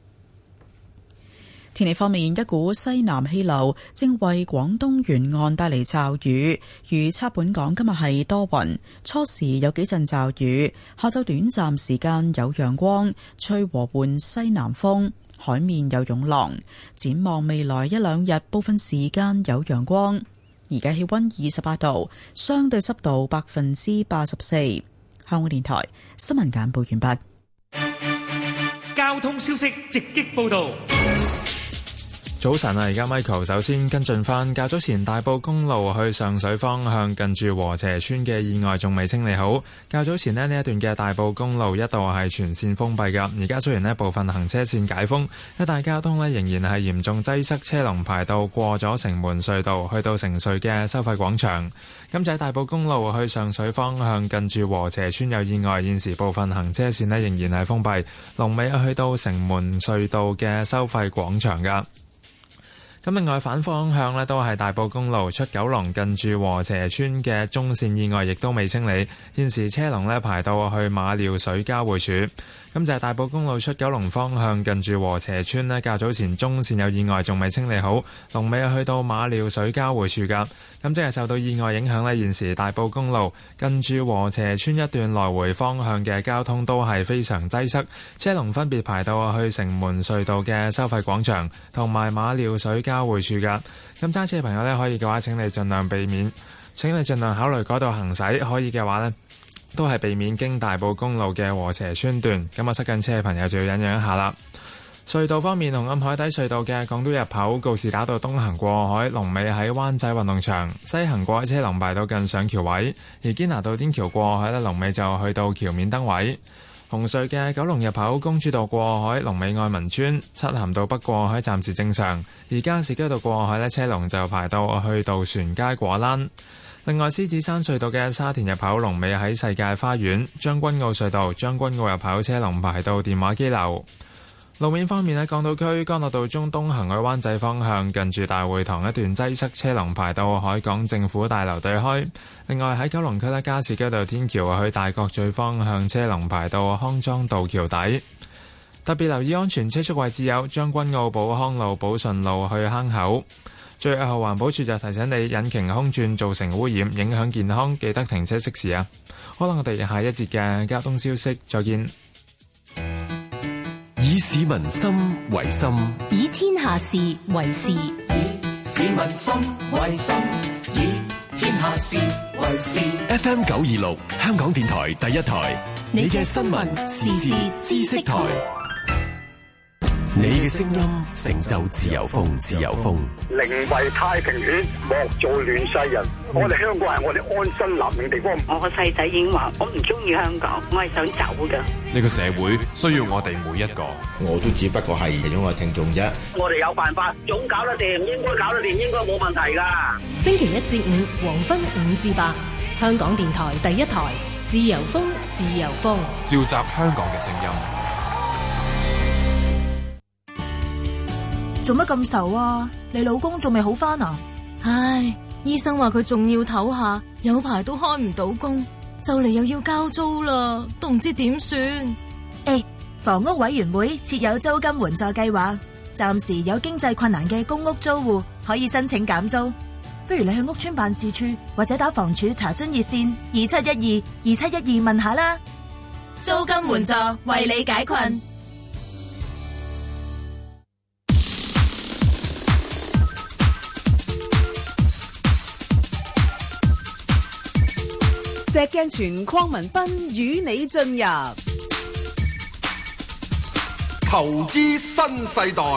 天氣方面，一股西南氣流正為廣東沿岸帶嚟驟雨，預測本港今日係多雲，初時有幾陣驟雨，下晝短暫時間有陽光，吹和緩西南風，海面有湧浪。展望未來一兩日，部分時間有陽光。而家氣溫二十八度，相對濕度百分之八十四。香港電台新聞簡報完畢。 交通消息直擊報道。 早晨啊，而家 Michael 首先跟進翻，較早前大埔公路去上水方向近住禾輋村嘅意外仲未清理好。較早前呢，呢一段嘅大埔公路一度係全線封閉㗎，而家雖然呢部分行車線解封，一帶交通呢仍然係嚴重擠塞，車龍排到過咗城門隧道去到城隧嘅收費廣場。咁就喺大埔公路去上水方向近住禾輋村有意外，現時部分行車線呢仍然係封閉，龍尾去到城門隧道嘅收費廣場㗎。咁另外反方向呢都係大埔公路出九龍近住禾輋村嘅中線意外亦都未清理，現時車龍呢排到去馬料水交匯處。咁就係大埔公路出九龍方向近住禾輋村呢，較早前中線有意外仲未清理好，龍尾去到馬料水交匯處㗎。咁即係受到意外影響呢，現時大埔公路近住禾輋村一段來回方向嘅交通都係非常擠塞，車龍分別排到去城門隧道嘅收費廣場同埋馬料水交匯處㗎。咁揸車嘅朋友呢，可以嘅話請你盡量避免，請你盡量考慮嗰度行駛，可以嘅話呢，都係避免經大埔公路嘅禾輋村段。咁啊，塞緊車嘅朋友就要忍讓一下啦。隧道方面，紅磡海底隧道嘅港島入口告士打道東行過海，龍尾喺灣仔運動場；西行過海車龍排到近上橋位。而堅拿道天橋過海呢，龍尾就去到橋面燈位。紅隧嘅九龍入口公主道過海，龍尾愛民村；漆咸道北過海暫時正常。而加士居道過海呢，車龍就排到去渡船街果欄。另外，獅子山隧道嘅沙田入口龍尾喺世界花園。將軍澳隧道將軍澳入口車龍排到電話機樓。路面方面喺港島區干諾道中東行去灣仔方向，近住大會堂一段擠塞，車龍排到海港政府大樓對開。另外喺九龍區咧，加士居道天橋去大角咀方向，車龍排到康莊道橋底。特別留意安全車速位置有將軍澳寶康路、寶順路去坑口。最後環保署就提醒你，引擎空轉造成污染，影響健康，記得停車熄匙啊！可能我哋下一節嘅交通消息再見。 以市民心為心， 以天下事為事。以市民心為心，以天下事為事。 F M 九二六，香港電台第一台，你嘅新聞時事知識台。你嘅聲音成就自由風，自由風。 寧為太平犬，莫做亂世人。我哋香港係我哋安身立命地方。 我個細仔已經話，我唔中意香港，我係想走噶。 呢個社會需要我哋每一個。 我都只不過係其中個聽眾啫。 我哋有辦法，總搞得掂，應該搞得掂，應該冇問題噶。 星期一至五黃昏五至八，香港電台第一台，自由風，自由風， 召集香港嘅聲音。 做乜咁愁啊？你老公仲未好返啊？ 唉，醫生話佢仲要唞下，有排都開唔到工，就嚟又要交租啦，都唔知點算。 誒，房屋委員會設有租金援助計劃，暫時有經濟困難嘅公屋租戶可以申請減租。不如你去屋邨辦事處或者打房署查詢熱線二七一二二七一二問下啦。租金援助為你解困。 石鏡泉鄺民彬與你進入投資新世代。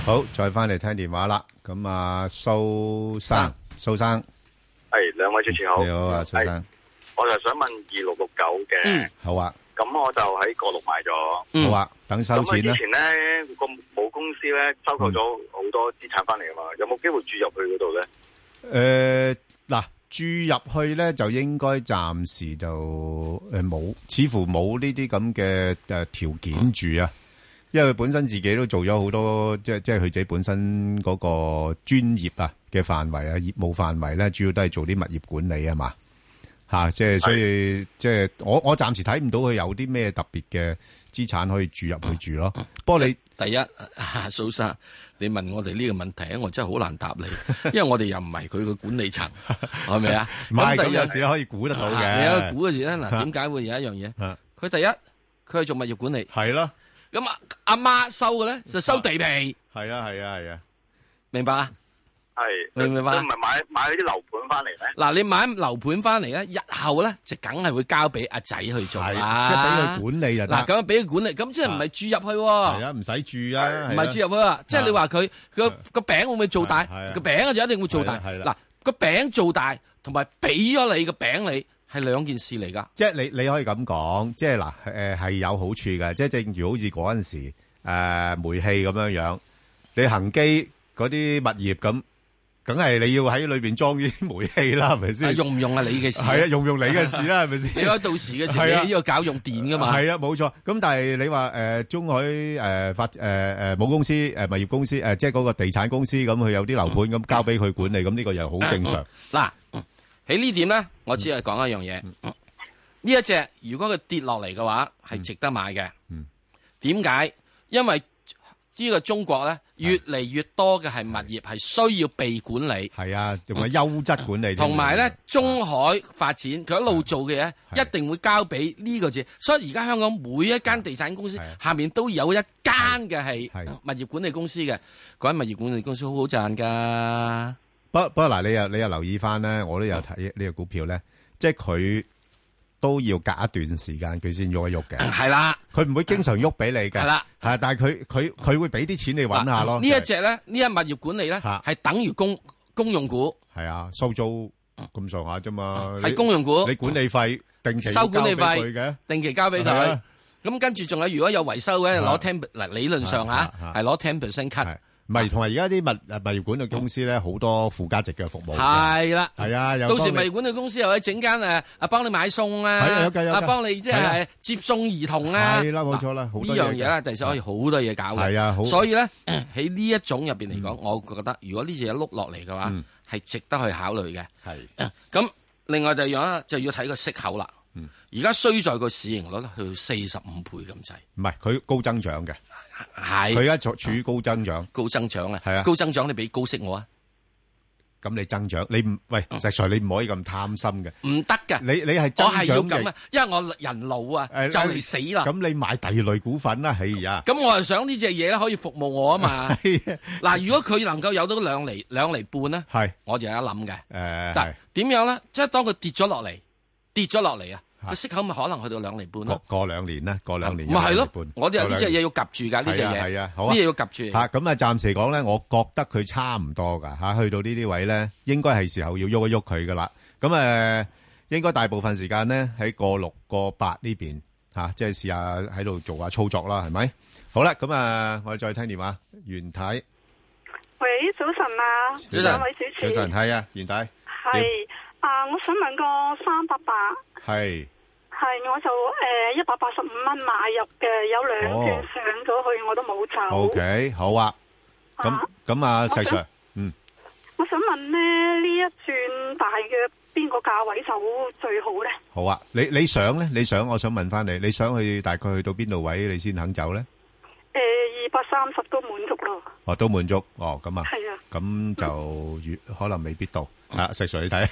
好，再翻嚟聽電話啦。咁啊，蘇生，蘇生， 係兩位主持好， 你好啊，蘇生。 我就想問二六六九嘅， 嗯，好啊。 咁我就喺個六買咗， 嗯，好啊，等收錢啦。 咁之前咧個母公司咧收購咗好多資產翻嚟啊嘛，有冇機會注入去嗰度咧？ 誒，嗱，注入去咧就應該暫時就誒冇，似乎冇呢啲咁嘅誒條件住啊。因為佢本身自己都做咗好多，即係即係佢自己本身嗰個專業啊嘅範圍啊，業務範圍咧，主要都係做啲物業管理啊嘛，吓，即係所以即係我我暫時睇唔到佢有啲咩特別嘅資產可以注入去住咯。不過你第一，蘇生，你問我哋呢個問題咧，我真係好難答你，因為我哋又唔係佢個管理層，係咪啊？ 唔係咁有時可以估得到嘅。 你有估嘅時咧，嗱，點解會有一樣嘢？佢第一，佢係做物業管理， 係咯。 咁啊，阿媽收嘅咧就收地皮， 係啊係啊係啊， 明白啊？ 係明唔明白？ 唔係買買啲樓盤翻嚟咧？ 嗱，你買樓盤翻嚟咧，日後咧就梗係會交俾阿仔去做啦， 即係俾佢管理就得。 嗱，咁樣俾佢管理，咁即係唔係注入去？ 係啊，唔使注啊， 唔係注入去啊，即係你話佢個個餅會唔會做大？個餅就一定會做大。嗱，個餅做大同埋俾咗你個餅你。係兩件事嚟噶， 即係你你可以咁講，即係嗱，誒係有好處嘅，即係正如好似嗰陣時誒煤氣咁樣樣，你恒基嗰啲物業咁，梗係你要喺裏邊裝啲煤氣啦，係咪先？ 用唔用啊？你嘅事係啊，用唔用你嘅事啦，係咪先？ 你開到時嘅時，你呢個搞用電噶嘛？ 係啊，冇錯。咁但係你話誒中海誒發誒誒母公司誒物業公司誒，即係嗰個地產公司咁，佢有啲樓盤咁交俾佢管理，咁呢個又好正常。 嗱。喺呢點咧，我只係講一樣嘢。呢、嗯、一隻如果佢跌落嚟嘅話，係、嗯、值得買嘅。點解、嗯？因為呢個中國咧，越嚟越多嘅係物業係需要被管理。係啊，仲有優質管理。同埋咧，中海發展佢一路做嘅嘢，一定會交俾呢個字。所以而家香港每一間地產公司下面都有一間嘅係物業管理公司嘅。嗰間物業管理公司好好賺噶。 不不過嗱，你又你又留意翻咧，我都有睇呢個股票咧，即係佢都要隔一段時間佢先喐一喐嘅。係啦，佢唔會經常喐俾你嘅。係啦，係，但係佢佢佢會俾啲錢你揾下咯。呢一隻咧，呢一物業管理咧，係等於公公用股。 係啊，收租咁上下啫嘛。 係公用股， 你管理費定期收管理費嘅， 定期交俾佢。咁跟住仲有，如果有維修嘅，攞 ten 嗱理論上吓係攞 ten percent cut。 唔係，同埋而家啲物物業管理公司咧，好多附加值嘅服務。 係啦， 係啊， 到時物業管理公司又可以整間誒，啊幫你買餸啊，啊幫你即係接送兒童啊。係啦，冇錯啦，呢樣嘢咧，第時可以好多嘢搞嘅。係啊，所以咧喺呢一種入邊嚟講，我覺得如果呢隻嘢碌落嚟嘅話，係值得去考慮嘅。係。咁另外就樣就要睇個息口啦。而家衰在個市盈率去到四十五倍咁滯。唔係，佢高增長嘅。係，佢而家處處於高增長， 高增長啊，係啊， 啊， 高增長你俾高息我啊， 咁你增長，你唔喂石 Sir，你唔可以咁貪心嘅， 唔得嘅， 你你係增長嘅，我係要咁啊，因為我人老啊，呃、就嚟死啦， 咁你買第二類股份啦，係呀， 咁我係想呢隻嘢咧可以服務我啊嘛，嗱，如果佢能夠有到兩厘兩厘半咧，係，我就有一諗嘅，誒、呃，但係點樣咧？即係當佢跌咗落嚟，跌咗落嚟啊！個息口咪可能去到兩厘半咯，過兩年啦，過兩年。咪係咯，我哋有呢隻嘢要夾住噶，呢隻嘢係啊，好啊，呢嘢要夾住。 吓咁啊，暫時講咧，我覺得佢差唔多噶吓，去到呢啲位咧，應該係時候要喐一喐佢噶啦。咁誒，應該大部分時間咧喺過六過八呢邊吓，即係試下喺度做下操作啦，係咪？好啦，咁啊，我哋再聽電話，袁太。 喂，早晨啊，兩位主持。 早晨，係啊，袁太。 係。啊！我想問個三百八， 係係我就誒一百八十五蚊買入嘅，有兩轉上咗去，我都冇走。 O K，好啊。咁咁啊，石 Sir，嗯， 我想問咧，呢一轉大約邊個價位走最好咧？ 好啊，你你想咧？你想，我想問翻你，你想去大概去到邊度位，你先肯走咧？ 誒，二百三十都滿足咯。 哦，都滿足，哦，咁啊， 係啊， 咁就越可能未必到。啊，石 Sir 你睇，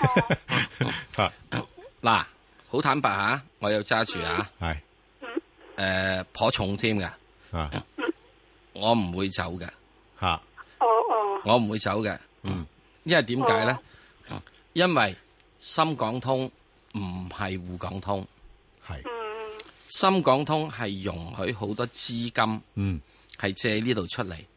嗱，好坦白吓，我有揸住啊， 係， 誒，頗重添嘅，啊，我唔會走嘅， 吓， 哦哦， 我唔會走嘅，嗯，因為點解咧？因為深港通唔係滬港通，係，深港通係容許好多資金，嗯，係借呢度出嚟。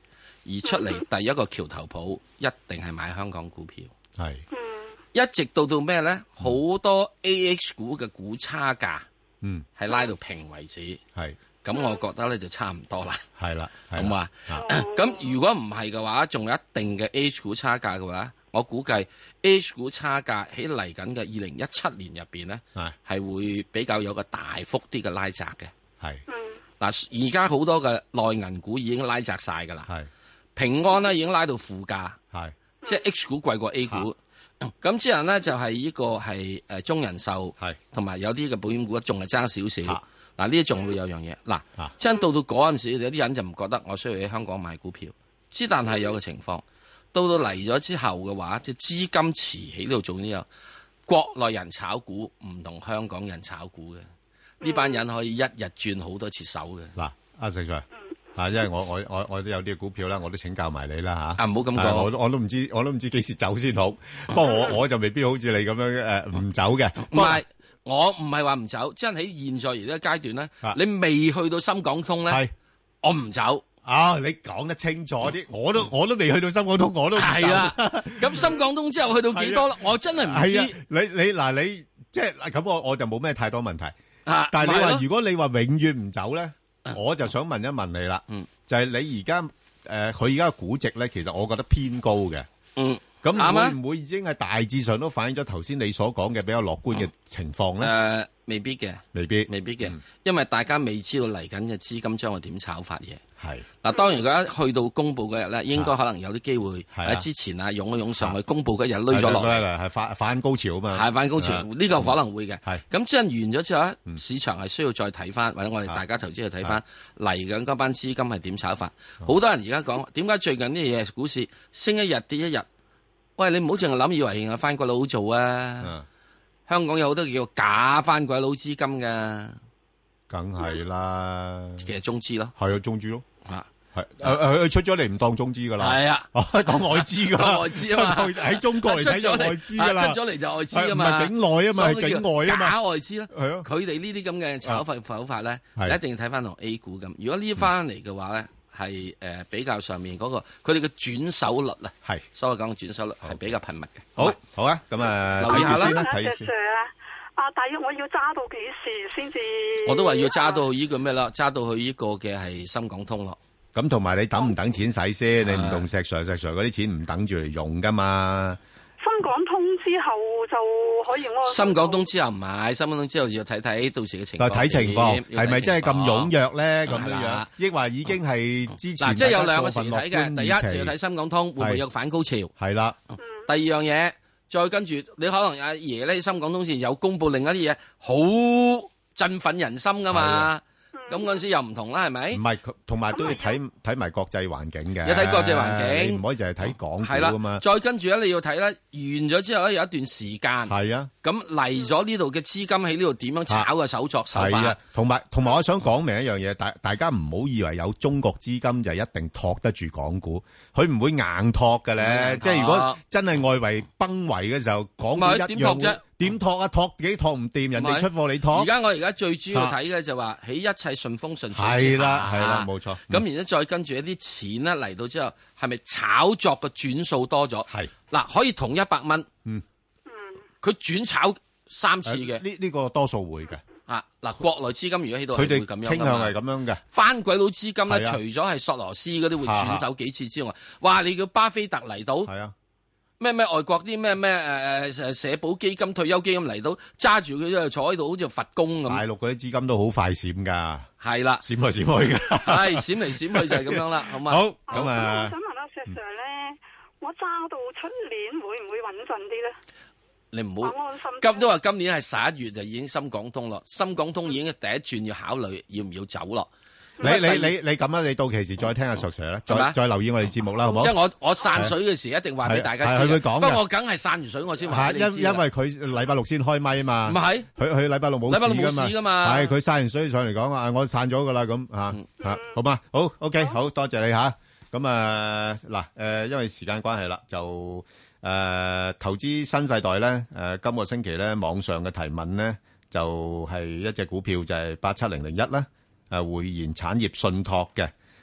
而出嚟第一個橋頭堡一定係買香港股票， 係一直到到咩咧？好、嗯、多 A H 股嘅股差價，嗯，係拉到平為止， 係咁，我覺得咧就差唔多啦， 係啦， 好嘛？咁如果唔係嘅話，仲有一定嘅 A H 股差價嘅話，我估計 A H 股差價喺嚟緊嘅二零一七年入邊咧，係會比較有個大幅啲嘅拉窄嘅， 係。 嗱，而家好多嘅內銀股已經拉窄晒噶啦，平安咧已經拉到負價，即係 H 股貴過 A 股。咁之後咧就係呢個係誒中人壽，同埋有啲嘅保險股仲係爭少少。嗱，呢啲仲會有樣嘢。嗱，真到到嗰陣時，有啲人就唔覺得我需要喺香港買股票。之但係有個情況，到到嚟咗之後嘅話，即係資金池喺度做呢個國內人炒股，唔同香港人炒股嘅。呢班人可以一日轉好多次手嘅。嗱，阿石 Sir，啊，因為我我我我都有啲股票啦，我都請教埋你啦吓。啊，唔好咁講，我我都唔知，我都唔知幾時走先好。不過我我就未必好似你咁樣誒唔走嘅。唔係，我唔係話唔走，即係喺現在而家階段咧，你未去到深港通咧，我唔走。啊，你講得清楚啲，我都我都未去到深港通，我都唔走。係啦，咁深港通之後去到幾多啦？我真係唔知。你你嗱你即係咁，我我就冇咩太多問題。但係你話如果你話永遠唔走咧，我就想問一問你啦，就係你而家誒，佢而家嘅估值咧，其實我覺得偏高嘅。嗯，咁會唔會已經係大致上都反映咗頭先你所講嘅比較樂觀嘅情況咧？誒，未必嘅，未必，未必嘅，因為大家未知道嚟緊嘅資金將會點炒法嘢。係嗱，當然而家去到公布嗰日咧，應該可能有啲機會喺之前啊，湧一湧上去，公布嗰日累咗落嚟，係反反高潮啊嘛，係反高潮，呢個可能會嘅。係咁即係完咗之後咧，市場係需要再睇翻，或者我哋大家投資去睇翻嚟緊嗰班資金係點炒法。好多人而家講點解最近啲嘢股市升一日跌一日？喂，你唔好淨係諗以為係番鬼佬做啊！香港有好多叫假番鬼佬資金噶。梗係啦，其實中資咯，係啊，中資咯，啊，係，誒誒，佢出咗嚟唔當中資噶啦，係啊，當外資噶啦，外資啊嘛，喺中國嚟睇就外資噶啦，出咗嚟就外資啊嘛，唔係境內啊嘛，係境外啊嘛，假外資咯，係啊，佢哋呢啲咁嘅炒法手法咧，一定要睇翻同 A 股咁。如果呢翻嚟嘅話咧，係誒比較上面嗰個，佢哋嘅轉手率啊，係，所謂講嘅轉手率係比較頻密嘅。好，好啊，咁啊，留意下先啦，睇先。啊！大約我要揸到幾時先至？我都話要揸到呢個咩啦，揸到去呢個嘅係深港通咯。咁同埋你等唔等錢使先？你唔同石 Sir 石 Sir 嗰啲錢唔等住嚟用噶嘛？深港通之後就可以安。深港通之後唔係，深港通之後要睇睇到時嘅情況。睇情況係咪真係咁踴躍咧？咁樣樣，抑或已經係之前嗱，即係有兩個時睇嘅。第一就要睇深港通會唔會有反高潮？係啦。第二樣嘢。再跟住，你可能阿爺咧，深港通前有公布另一啲嘢，好振奮人心噶嘛。咁嗰陣時又唔同啦，係咪？唔係，同埋都要睇睇埋國際環境嘅。有睇國際環境，唔可以淨係睇港股噶嘛。再跟住咧，你要睇咧，完咗之後咧，有一段時間。係啊。咁嚟咗呢度嘅資金喺呢度點樣炒嘅手作手法？係啊。同埋同埋，我想講明一樣嘢，大大家唔好以為有中國資金就一定托得住港股，佢唔會硬托嘅咧。即係如果真係外圍崩圍嘅時候，港股一樣會。點托啊？托幾托唔掂，人哋出貨你托。而家我而家最主要睇嘅就話喺一切順風順水之下。係啦，係啦，冇錯。咁然之後再跟住一啲錢咧嚟到之後，係咪炒作嘅轉數多咗？係嗱，可以同一百蚊。嗯嗯，佢轉炒三次嘅。呢呢個多數會嘅。啊嗱，國內資金如果喺度，佢哋傾向係咁樣嘅。番鬼佬資金咧，除咗係索羅斯嗰啲會轉手幾次之外，哇！你叫巴菲特嚟到。係啊。咩咩外國啲咩咩誒誒社保基金退休基金嚟到揸住佢就坐喺度好似佛公咁。大陸嗰啲資金都好快閃噶，係啦，閃嚟閃去噶，係閃嚟閃去就係咁樣啦，好嘛？好咁啊！我想問阿石 Sir 咧，我揸到出年會唔會穩陣啲咧？你唔好今都話今年係十一月就已經深港通咯，深港通已經第一轉要考慮要唔要走咯。你你你你咁啦，你到期時再聽阿石 Sir 啦，再再留意我哋節目啦，好唔好？即係我我散水嘅時一定話俾大家知，佢會講嘅。不過我梗係散完水我先話俾你知。因因為佢禮拜六先開咪啊嘛，唔係佢佢禮拜六冇禮拜六冇事噶嘛，係佢散完水上嚟講啊，我散咗噶啦咁啊啊，好嘛？好 OK，好多謝你吓。咁啊嗱誒，因為時間關係啦，就誒投資新世代咧誒，今個星期咧網上嘅提問咧就係一隻股票就係八七零零一啦。誒匯賢產業信託嘅，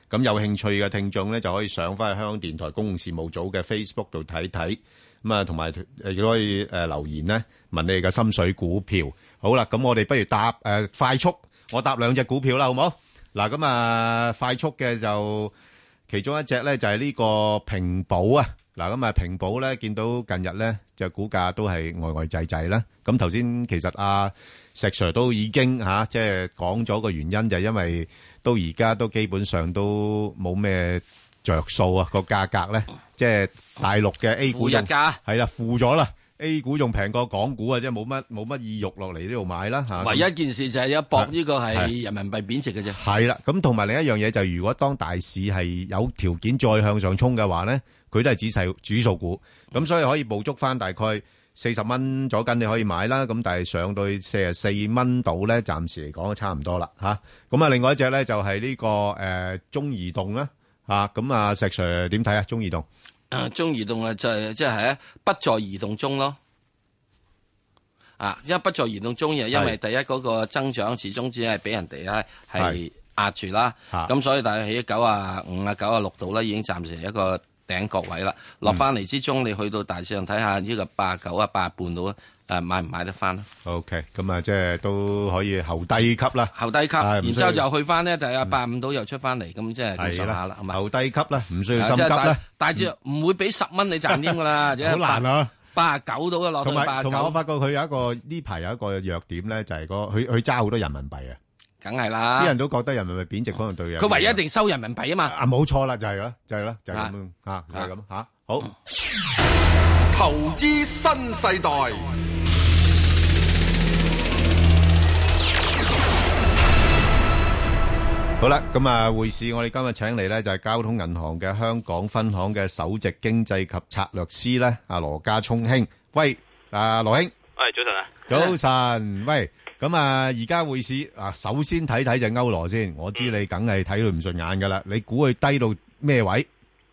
咁有興趣嘅聽眾咧，就可以上翻去香港電台公共事務組嘅 Facebook 度睇睇。咁啊，同埋誒亦都可以誒留言咧，問你哋嘅心水股票。好啦，咁我哋不如答誒快速，我答兩隻股票啦，好唔好？嗱，咁啊快速嘅就其中一隻咧就係呢個平保啊。嗱，咁啊平保咧見到近日咧就股價都係呆呆滯滯啦。咁頭先其實阿石 Sir 都已經嚇即係講咗個原因，就係因為到而家都基本上都冇咩着數啊，個價格咧，即係大陸嘅 A 股仲係啦，負咗啦 ，A 股仲平過港股啊，即係冇乜冇乜意欲落嚟呢度買啦嚇。 唯一一件事就係一搏呢個係人民幣貶值嘅啫。係啦，咁同埋另一樣嘢就係如果當大市係有條件再向上衝嘅話咧，佢都係指數指數股，咁所以可以捕捉翻大概四十蚊左近你可以買啦。咁但係上到四十四蚊度咧，暫時嚟講都差唔多啦嚇。咁啊，另外一隻咧就係呢個誒中移動啦。啊，咁啊，石 Sir 點睇啊？中移動， 啊，中移動啊，就係即係喺不在移動中咯。啊，因為不在移動中，因為第一嗰個增長始終只係俾人哋咧係壓住啦。咁所以大概喺九啊五啊九啊六度咧，已經暫時一個頂角位啦。落翻嚟之中，你去到大市上睇下呢個八啊九啊八啊半度啊。誒，買唔買得翻 ？OK， 咁啊，即係都可以後低級啦， 後低級，然之後又去翻呢，就係八五度又出翻嚟，咁即係咁上下啦，係咪？ 後低級啦，唔需要心急啦。 大致唔會俾十蚊你賺添噶啦， 好難啊！ 八啊九度嘅落到八啊九。 同埋我發覺佢有一個呢排有一個弱點咧，就係個佢佢揸好多人民幣啊。 梗係啦， 啲人都覺得人民幣貶值可能對嘅。 佢唯一一定收人民幣啊嘛。 啊，冇錯啦，就係啦，就係啦，就係咁吓，就係咁吓。好， 投資新世代。 好啦，咁啊，匯市我哋今日請嚟咧就係交通銀行嘅香港分行嘅首席經濟及策略師咧，阿羅家聰兄，喂，啊羅兄， 喂，早晨啊， 早晨，喂，咁啊，而家匯市啊，首先睇睇隻歐羅先，我知你梗係睇佢唔順眼噶啦，你估佢低到咩位？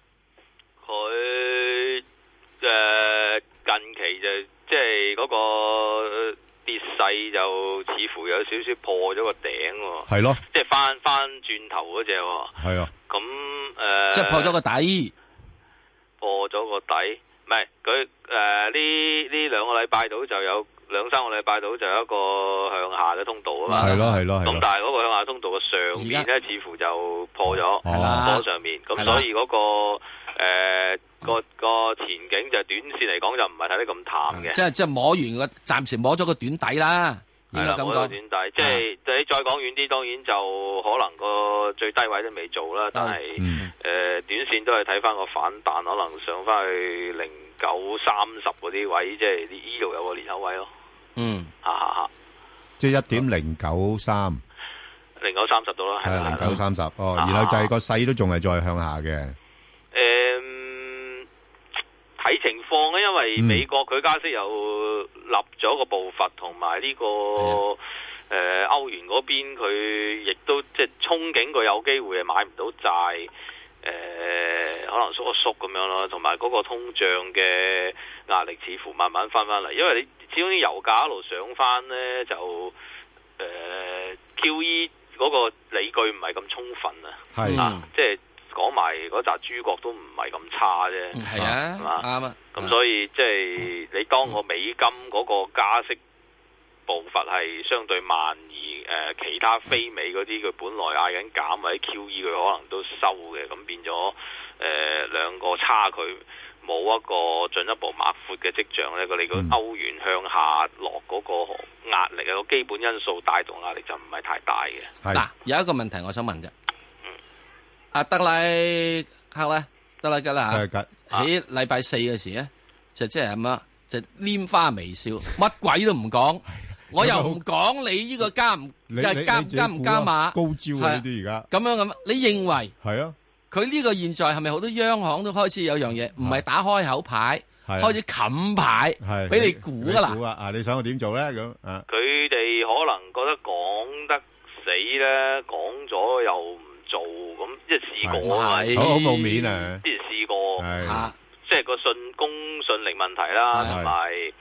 佢誒近期就即係嗰個。跌勢就似乎有少少破咗個頂喎， 係咯， 即係翻翻轉頭嗰隻喎， 係啊， 咁誒， 即係破咗個底， 破咗個底，唔係佢誒呢呢兩個禮拜到就有兩三個禮拜到就有一個向下嘅通道啊嘛， 係咯係咯， 咁但係嗰個向下通道嘅上面咧，似乎就破咗， 係啦， 破上面，咁所以嗰個誒。個個前景就短線嚟講就唔係睇得咁淡嘅， 即係即係摸完個，暫時摸咗個短底啦，應該咁講。 摸咗短底，即係你再講遠啲，當然就可能個最低位都未做啦，但係誒、嗯呃、短線都係睇翻個反彈，可能上翻去零九三十嗰啲位，即係呢度有個裂口位咯。嗯，吓吓吓， 即係一點零九三， 零九三十度啦， 係零九三十哦，然後就係個勢都仲係再向下嘅。 誒。睇情況咧，因為美國佢加息又立咗個步伐，同埋呢個誒、呃、歐元嗰邊佢亦都即係憧憬佢有機會係買唔到債，誒、呃、可能縮一縮咁樣咯，同埋嗰個通脹嘅壓力似乎慢慢翻翻嚟，因為你始終啲油價一路上翻咧，就誒、呃、Q E 嗰個理據唔係咁充分啊，係啊，即係。講埋嗰紮諸國都唔係咁差啫，係啊，係嘛，啱啊。咁所以即係、就是、你當個美金嗰個加息步伐係相對慢，而誒、呃、其他非美嗰啲佢本來嗌緊減或者 Q E 佢可能都收嘅，咁變咗誒、呃、兩個差距冇一個進一步擘闊嘅跡象咧。佢哋個歐元向下落嗰個壓力啊，個基本因素帶動壓力就唔係太大嘅。 嗱，有一個問題我想問啫。阿德拉克咧，德拉吉啦吓，喺禮拜四嘅時咧，就即係咁樣，就拈花微笑，乜鬼都唔講，我又唔講你呢個加唔即係加加唔加碼， 高招啊呢啲而家咁樣咁，你認為係啊？ 佢呢個現在係咪好多央行都開始有樣嘢，唔係打開口牌，開始冚牌，俾你估噶啦？ 啊，你想我點做咧？咁啊， 佢哋可能覺得講得死咧，講咗又。做咁即係試過啊， 好好冇面啊！ 之前試過，即係個信公信力問題啦，同埋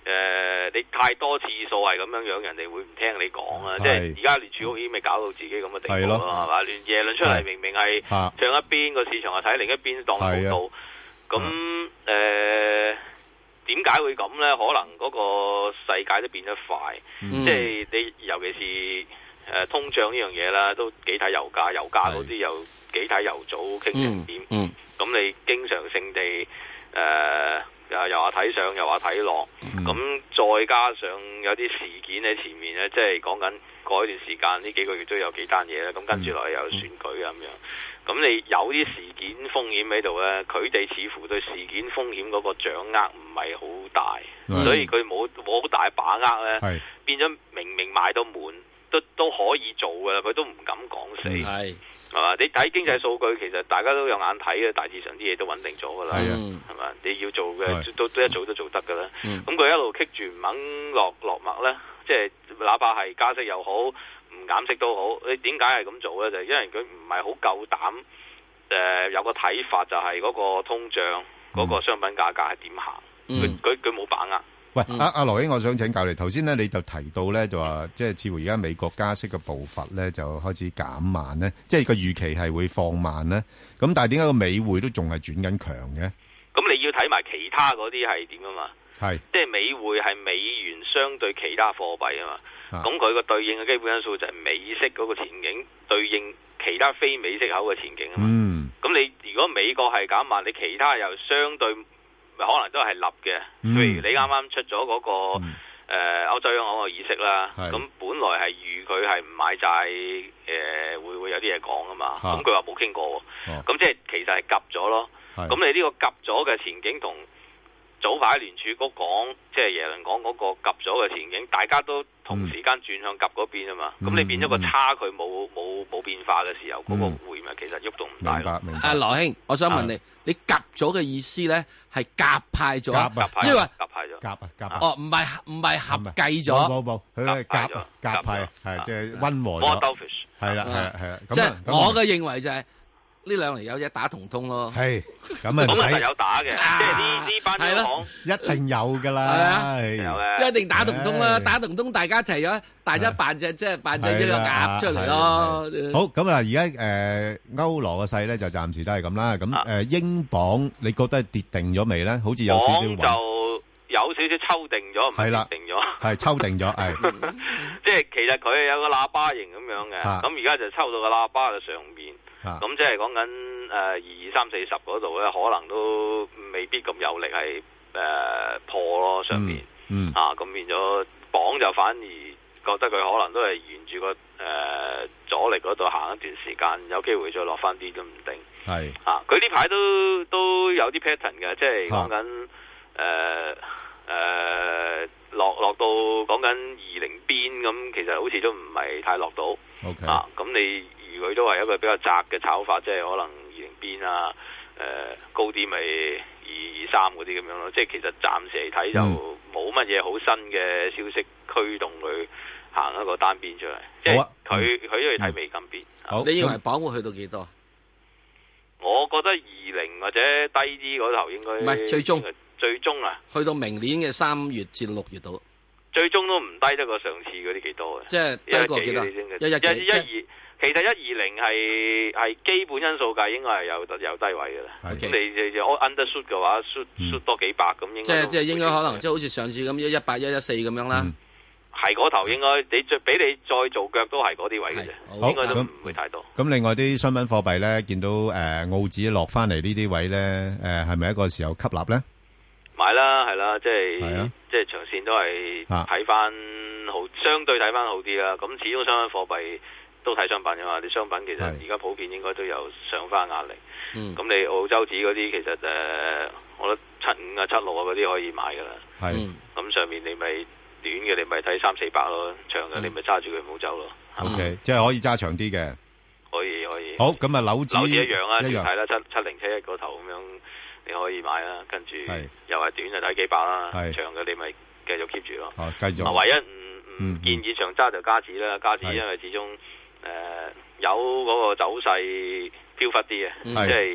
呃、你太多次數係咁樣樣，人哋會唔聽你講啊！即係而家聯儲局已經未搞到自己咁嘅地步咯，係嘛？聯耶倫出嚟明明係唱一邊個市場係睇另一邊當冇到，咁誒點解會咁咧？可能嗰個世界都變得快，嗯、即係你尤其是誒、呃、通脹呢樣嘢啦，都幾睇油價，油價嗰啲又幾睇油組傾成點，咁、嗯嗯、你經常性地誒。呃又話睇上又話睇落，咁、嗯、再加上有啲事件喺前面咧，即係講緊過一段時間呢幾個月都有幾單嘢咧，咁跟住落嚟又有選舉啊咁、嗯、樣，咁你有啲事件風險喺度咧，佢哋似乎對事件風險嗰個掌握唔係好大，嗯、所以佢冇冇好大把握咧，變咗明明賣到滿都都可以做噶啦，佢都唔敢講死。係、嗯。係嘛？你睇經濟數據，其實大家都有眼睇嘅，大致上啲嘢都穩定咗噶啦，係嘛？你要做嘅都都一早都做得噶啦。咁佢、嗯、一路棘住唔肯落落墨咧，即係哪怕係加息又好，唔減息都好，你點解係咁做咧？就係、因為佢唔係好夠膽誒，有個睇法就係嗰個通脹嗰、嗰個商品價格係點行？佢佢佢冇把握。 喂，阿阿羅兄，我想請教你。頭先咧，你就提到咧，就話即係似乎而家美國加息嘅步伐咧，就開始減慢咧，即係個預期係會放慢咧。咁但係點解個美匯都仲係轉緊強嘅？ 咁你要睇埋其他嗰啲係點啊嘛？係，即係美匯係美元相對其他貨幣啊嘛。咁佢個對應嘅基本因素就係美息嗰個前景對應其他非美息口嘅前景啊嘛。嗯。咁你如果美國係減慢，你其他又相對。可能都係立嘅，譬如你啱啱出咗嗰、那個誒、嗯呃、歐洲央行嘅議息啦，咁本來係預佢係唔買債，誒、呃、會會有啲嘢講啊嘛，咁佢話冇傾過，咁、哦、即係其實係夾咗咯，咁你呢個夾咗嘅前景同早排聯儲局講，即係耶倫講嗰個夾咗嘅前景，大家都同時間轉向夾嗰邊啊嘛，咁、嗯、你變咗個差距冇冇冇變化嘅時候，嗰、嗯那個匯咪其實喐動唔大咯。 阿羅兄，我想問你，啊、你夾咗嘅意思咧係夾派咗，即係話夾派咗， 夾啊夾啊。 哦，唔係唔係合計咗， 冇冇佢係夾夾派，係即係溫和咗。係啦係啦係啦， 即係我嘅認為就係、是。呢兩年有嘢打同通咯， 係咁啊， 咁係有打嘅，即係呢呢班央行一定有噶啦， 有嘅， 一定打同通啦，打同通大家一齊咗，大家扮隻即係扮隻一個鴨出嚟咯。 好，咁啊，而家誒歐羅嘅勢咧就暫時都係咁啦。咁誒英鎊你覺得跌定咗未咧？好似有少少就有少少抽定咗，唔係跌定咗， 係抽定咗，係。 即係其實佢有個喇叭形咁樣嘅，咁而家就抽到個喇叭嘅上邊。咁即係講緊誒二二三四十嗰度咧，可能都未必咁有力係誒、呃、破咯上面，嗯嗯、啊咁變咗鎊就反而覺得佢可能都係沿住個誒、呃、阻力嗰度行一段時間，有機會再落翻啲都唔定。係啊，佢呢排都都有啲 pattern 嘅，即係講緊誒誒落落到講緊二零邊咁，其實好似都唔係太落到。Okay. 啊，咁你。佢都係一個比較窄嘅炒法，即係可能二零邊啊，誒、呃、高啲咪二二三嗰啲咁樣咯。即係其實暫時嚟睇就冇乜嘢好新嘅消息驅動佢行一個單邊出嚟。即係佢佢都要睇美金邊。 好，你認為鎊會去到幾多？ 我覺得二零或者低啲嗰頭應該唔係最終， 最終啊， 去到明年嘅三月至六月度， 最終都唔低得過上次嗰啲幾多嘅。 即係低過幾多？ 一一一二。其實一二零係係基本因素計，應該係有有低位嘅啦。咁 Okay. 你你 undershoot 嘅話，shoot shoot 多幾百咁，應該即係即係應該可能即係好似上次咁一一八一一四咁樣啦。係嗰、嗯、頭應該你再俾你再做腳都係嗰啲位嘅啫，應該都唔會太多。 咁另外啲商品貨幣咧，見到誒、呃、澳紙落翻嚟呢啲位咧，誒係咪一個時候吸納咧？ 買啦，係啦，即係、啊、即係長線都係睇翻好，相對睇翻好啲啦。咁始終商品貨幣。都睇商品嘅嘛，啲商品其實而家普遍應該都有上翻壓力。咁、嗯、你澳洲紙嗰啲其實誒、呃，我覺得七五啊、七六啊嗰啲可以買㗎啦。係，咁、嗯、上面你咪短嘅，你咪睇三四百咯；長嘅你咪揸住佢唔好走咯。 O K，、嗯、即係可以揸長啲嘅。 可以可以。好， 咁啊，樓指樓指一樣啊，一樣睇啦，七七零七一個頭咁樣你可以買啦。跟住又係短就睇幾百啦，長嘅你咪繼續 keep 住咯。 哦，繼續。 唯一唔唔、嗯、建議長揸就加紙啦，加紙因為始終。誒、呃，有嗰個走勢飄忽啲嘅，嗯、即係誒、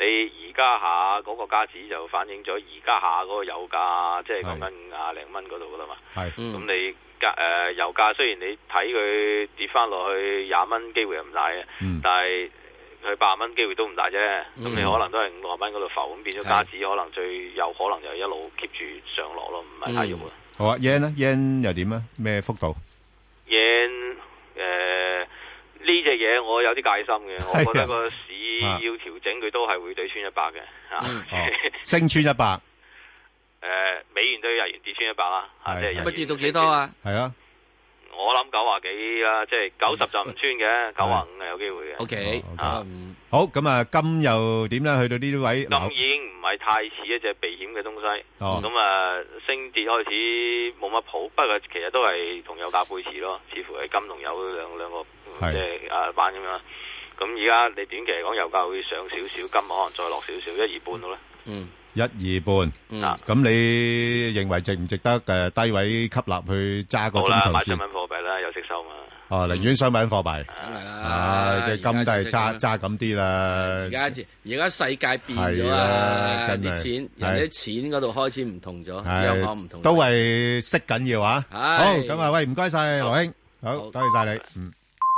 你而家下嗰個加紙就反映咗而家下嗰個油價，即係講緊五廿零蚊嗰度噶啦嘛。係，咁你加誒油價雖然你睇佢跌翻落去廿蚊機會又唔大嘅，嗯、但係佢八十蚊機會都唔大啫。咁、嗯、你可能都係五十蚊嗰度浮，咁變咗加紙可能最有可能就一路 keep 住上落咯，唔係太喐啦。 好啊 yen 咧 yen 又點啊？咩幅度 yen 誒呢隻嘢我有啲戒心嘅，我覺得個市要調整佢都係會對穿一百嘅嚇， 升穿一百。 誒美元對日元跌穿一百啦，嚇即係日元跌到幾多啊？ 係啊， 我諗九啊幾啦，即係九十就唔穿嘅，九啊五係有機會嘅。 O K 啊， 好咁啊，金又點咧？去到呢啲位， 金已經唔係太似一隻避險嘅東西。哦，咁啊升跌開始冇乜譜，不過其實都係同油價背馳咯，似乎係金同油兩兩個即係啊板咁樣。咁而家你短期嚟講，油價會上少少，金可能再落少少，一二半到咧。 嗯，一二半。嗯，咁你認為值唔值得誒低位吸納去揸個中長線？好啦，買商品貨幣啦，有息收嘛。 哦，寧願商品貨幣。梗係啦，即係金都係揸揸咁啲啦。 而家而家世界變咗啦，啲錢人啲錢嗰度開始唔同咗，央行唔同。 都係息緊要啊！好，咁啊，喂，唔該晒羅兄，好，多謝晒你，嗯。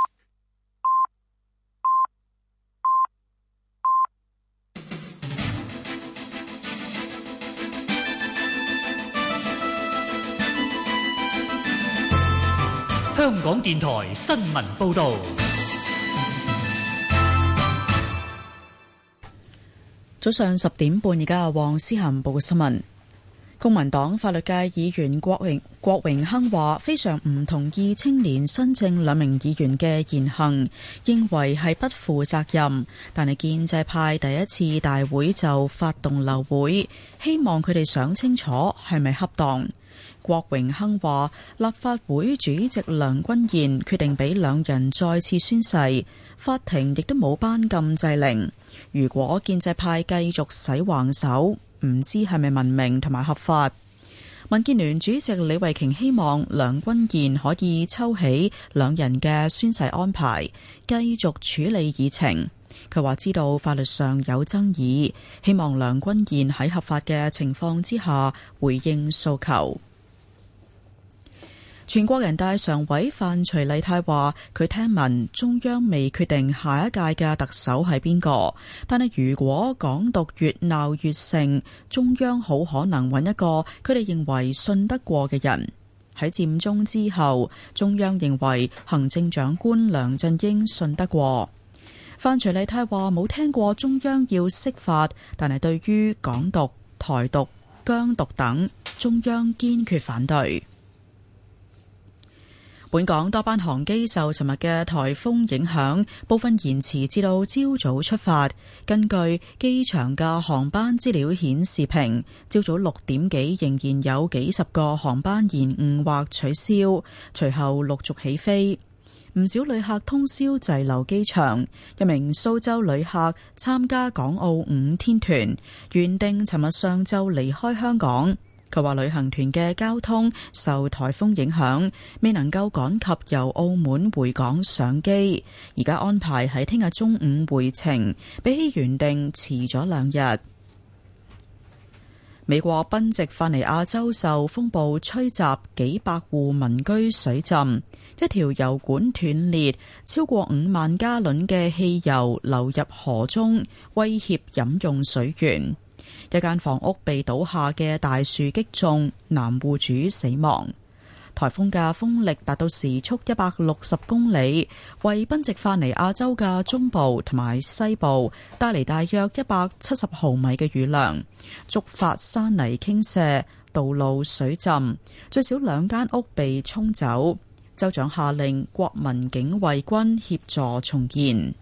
香港電台新聞報道， 早上十點半，而家黃思涵報嘅新聞。公民黨法律界議員郭榮郭榮鏗話，非常唔同意青年新政兩名議員嘅言行，認為係不負責任。但係建制派第一次大會就發動流會，希望佢哋想清楚係咪恰當。郭榮鏗話，立法會主席梁君彥決定俾兩人再次宣誓，法庭亦都冇頒禁制令。如果建制派繼續使橫手，唔知係咪文明同埋合法。民建聯主席李慧瓊希望梁君彥可以抽起兩人嘅宣誓安排，繼續處理議程。佢話知道法律上有爭議，希望梁君彥喺合法嘅情況之下回應訴求。全國人大常委范徐麗泰話，佢聽聞中央未決定下一屆嘅特首係邊個，但係如果港獨越鬧越盛，中央好可能揾一個佢哋認為信得過嘅人。喺佔中之後，中央認為行政長官梁振英信得過。范徐麗泰話冇聽過中央要釋法，但係對於港獨、台獨、疆獨等，中央堅決反對。本港多班航機受尋日嘅颱風影響，部分延遲至到朝早出發。根據機場嘅航班資料顯示屏，朝早六點幾仍然有幾十個航班延誤或取消，隨後陸續起飛。唔少旅客通宵滯留機場。一名蘇州旅客參加港澳五天團，原定尋日上晝離開香港。佢話旅行團嘅交通受颱風影響，未能夠趕及由澳門回港上機，而家安排喺聽日中午回程，比起原定遲咗兩日。美國賓夕法尼亞州受風暴吹襲，幾百戶民居水浸，一條油管斷裂，超過五萬加侖嘅汽油流入河中，威脅飲用水源。一間房屋被倒下嘅大樹擊中，男戶主死亡。颱風嘅風力達到時速一百六十公里，為賓夕法尼亞州嘅中部同埋西部帶嚟大約一百七十毫米嘅雨量，觸發山泥傾瀉，道路水浸，最少兩間屋被沖走。州長下令國民警衛軍協助重建。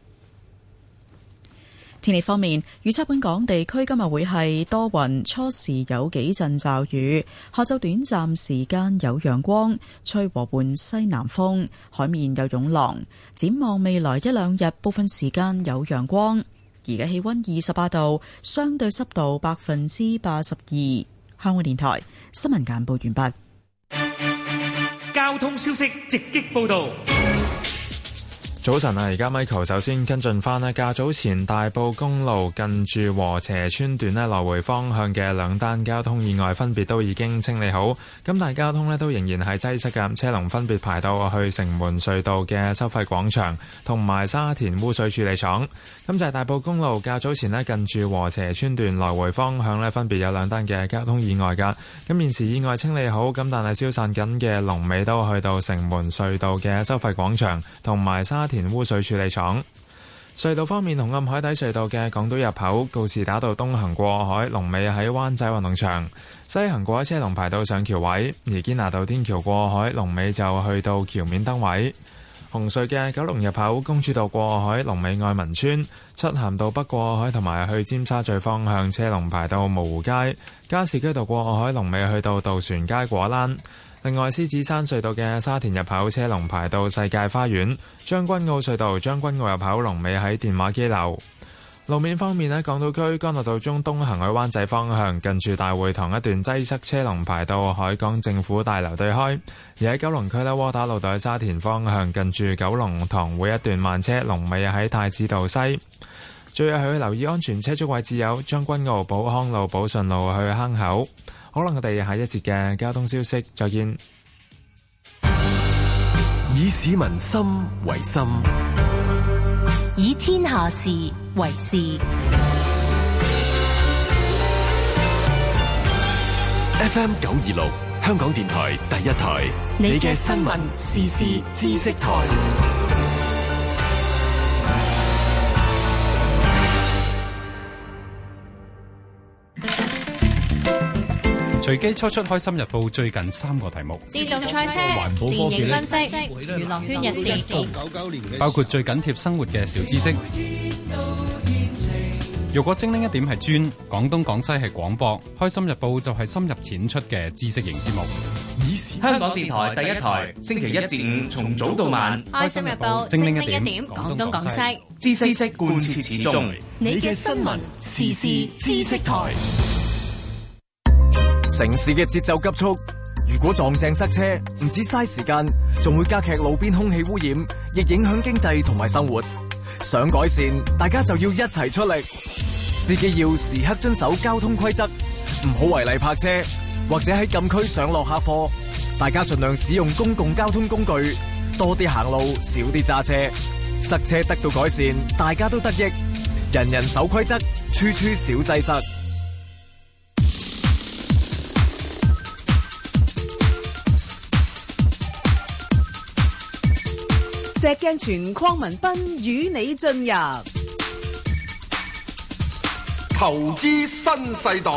天氣方面，預測本港地區今日會係多雲，初時有幾陣驟雨，下晝短暫時間有陽光，吹和緩西南風，海面有湧浪。展望未來一兩日，部分時間有陽光。而家氣溫二十八度，相對濕度百分之八十二。香港電台新聞簡報完畢。 交通消息直擊報道。 早晨啊，而家 Michael 首先跟進翻呢，較早前大埔公路近住禾輋村段呢，來回方向嘅兩單交通意外分別都已經清理好，咁但係交通呢都仍然係擠塞嘅，車龍分別排到去城門隧道嘅收費廣場同埋沙田污水處理廠。咁就係大埔公路較早前呢，近住禾輋村段來回方向呢，分別有兩單嘅交通意外㗎，咁現時意外清理好，咁但係消散緊嘅龍尾都去到城門隧道嘅收費廣場同埋沙田污水處理廠。隧道方面，紅磡海底隧道嘅港島入口告士打道東行過海，龍尾喺灣仔運動場；西行過海車龍排到上橋位，而堅拿道天橋過海龍尾就去到橋面燈位。紅隧嘅九龍入口公主道過海龍尾愛民村，漆咸道北過海同埋去尖沙咀方向車龍排到蕪湖街，加士居道過海龍尾去到渡船街果欄。另外，獅子山隧道嘅沙田入口車龍排到世界花園，將軍澳隧道將軍澳入口龍尾喺電話機樓。路面方面呢，港島區干諾道中東行去灣仔方向，近住大會堂一段擠塞，車龍排到海港政府大樓對開。而喺九龍區呢，窩打老道沙田方向近住九龍塘會一段慢車，龍尾喺太子道西。最後去留意安全車速位置有將軍澳寶康路、寶順路去坑口。好啦，我哋下一節嘅交通消息再見。 以市民心為心， 以天下事為事。 F M 九二六，香港電台第一台，你嘅新聞時事知識台。 隨機抽出《開心日報》最近三個題目： 自動賽車、電影分析、娛樂圈日事， 包括最緊貼生活嘅小知識。如果精靈一點係專，廣東廣西係廣播，《開心日報》就係深入淺出嘅知識型節目。 香港電台第一台，星期一至五從早到晚，《 開心日報》精靈一點，廣東廣西， 知識貫徹始終。 你嘅新聞時事知識台。 城市嘅節奏急速，如果撞正塞車，唔止嘥時間，仲會加劇路邊空氣污染，亦影響經濟同埋生活。想改善，大家就要一齊出力。司機要時刻遵守交通規則，唔好違例泊車，或者喺禁區上落客貨。大家盡量使用公共交通工具，多啲行路，少啲揸車。塞車得到改善，大家都得益。人人守規則，處處少擠塞。 石鏡泉鄺民彬與你進入投資新世代。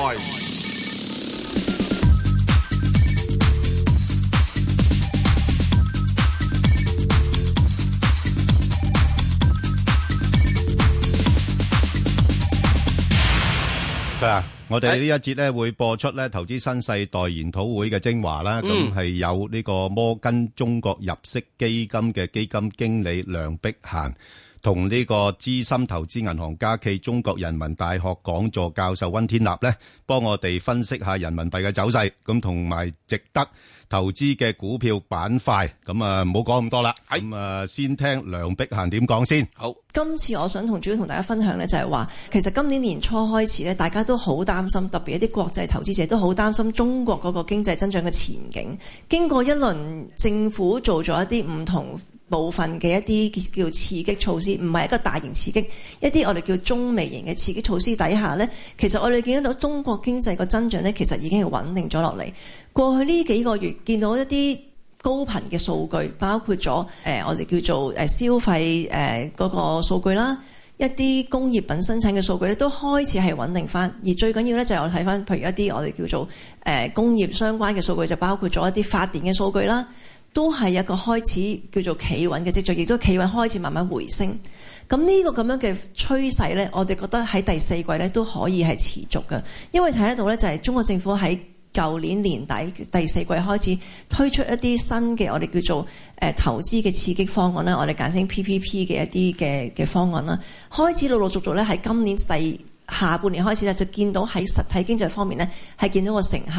啊！我哋呢一節咧會播出咧投資新世代研討會嘅精華啦，咁係、嗯、有呢個摩根中國入息基金嘅基金經理梁碧嫻，同呢個資深投資銀行家暨中國人民大學講座教授溫天納咧，幫我哋分析下人民幣嘅走勢，咁同埋值得投資嘅股票板塊，咁啊唔好講咁多啦，咁啊先聽梁碧嫻點講先。 好， 今次我想同主要同大家分享呢，就係話其實今年年初開始呢，大家都好擔心，特別一啲國際投資者都好擔心中國嗰個經濟增長嘅前景。經過一輪政府做咗一啲唔同部分嘅一啲叫刺激措施，唔係一個大型刺激，一啲我哋叫中微型嘅刺激措施底下呢，其實我哋見到中國經濟個增長呢，其實已經係穩定咗落嚟。過去呢幾個月見到一啲高頻嘅數據，包括咗誒、呃、我哋叫做誒消費誒嗰、呃那個數據啦，一啲工業品生產嘅數據咧都開始係穩定翻。而最緊要咧就係我睇翻，譬如一啲我哋叫做誒、呃、工業相關嘅數據，就包括咗一啲發電嘅數據啦，都係一個開始叫做企穩嘅跡象，亦都企穩開始慢慢回升。咁呢個咁樣嘅趨勢咧，我哋覺得喺第四季咧都可以係持續嘅，因為睇得到咧就係中國政府喺舊年年底第四季開始推出一啲新嘅我哋叫做誒、呃、投資嘅刺激方案啦，我哋簡稱 P P P 嘅一啲嘅嘅方案啦，開始陸陸續續咧喺今年第下半年開始咧就見到喺實體經濟方面咧係見到個成效。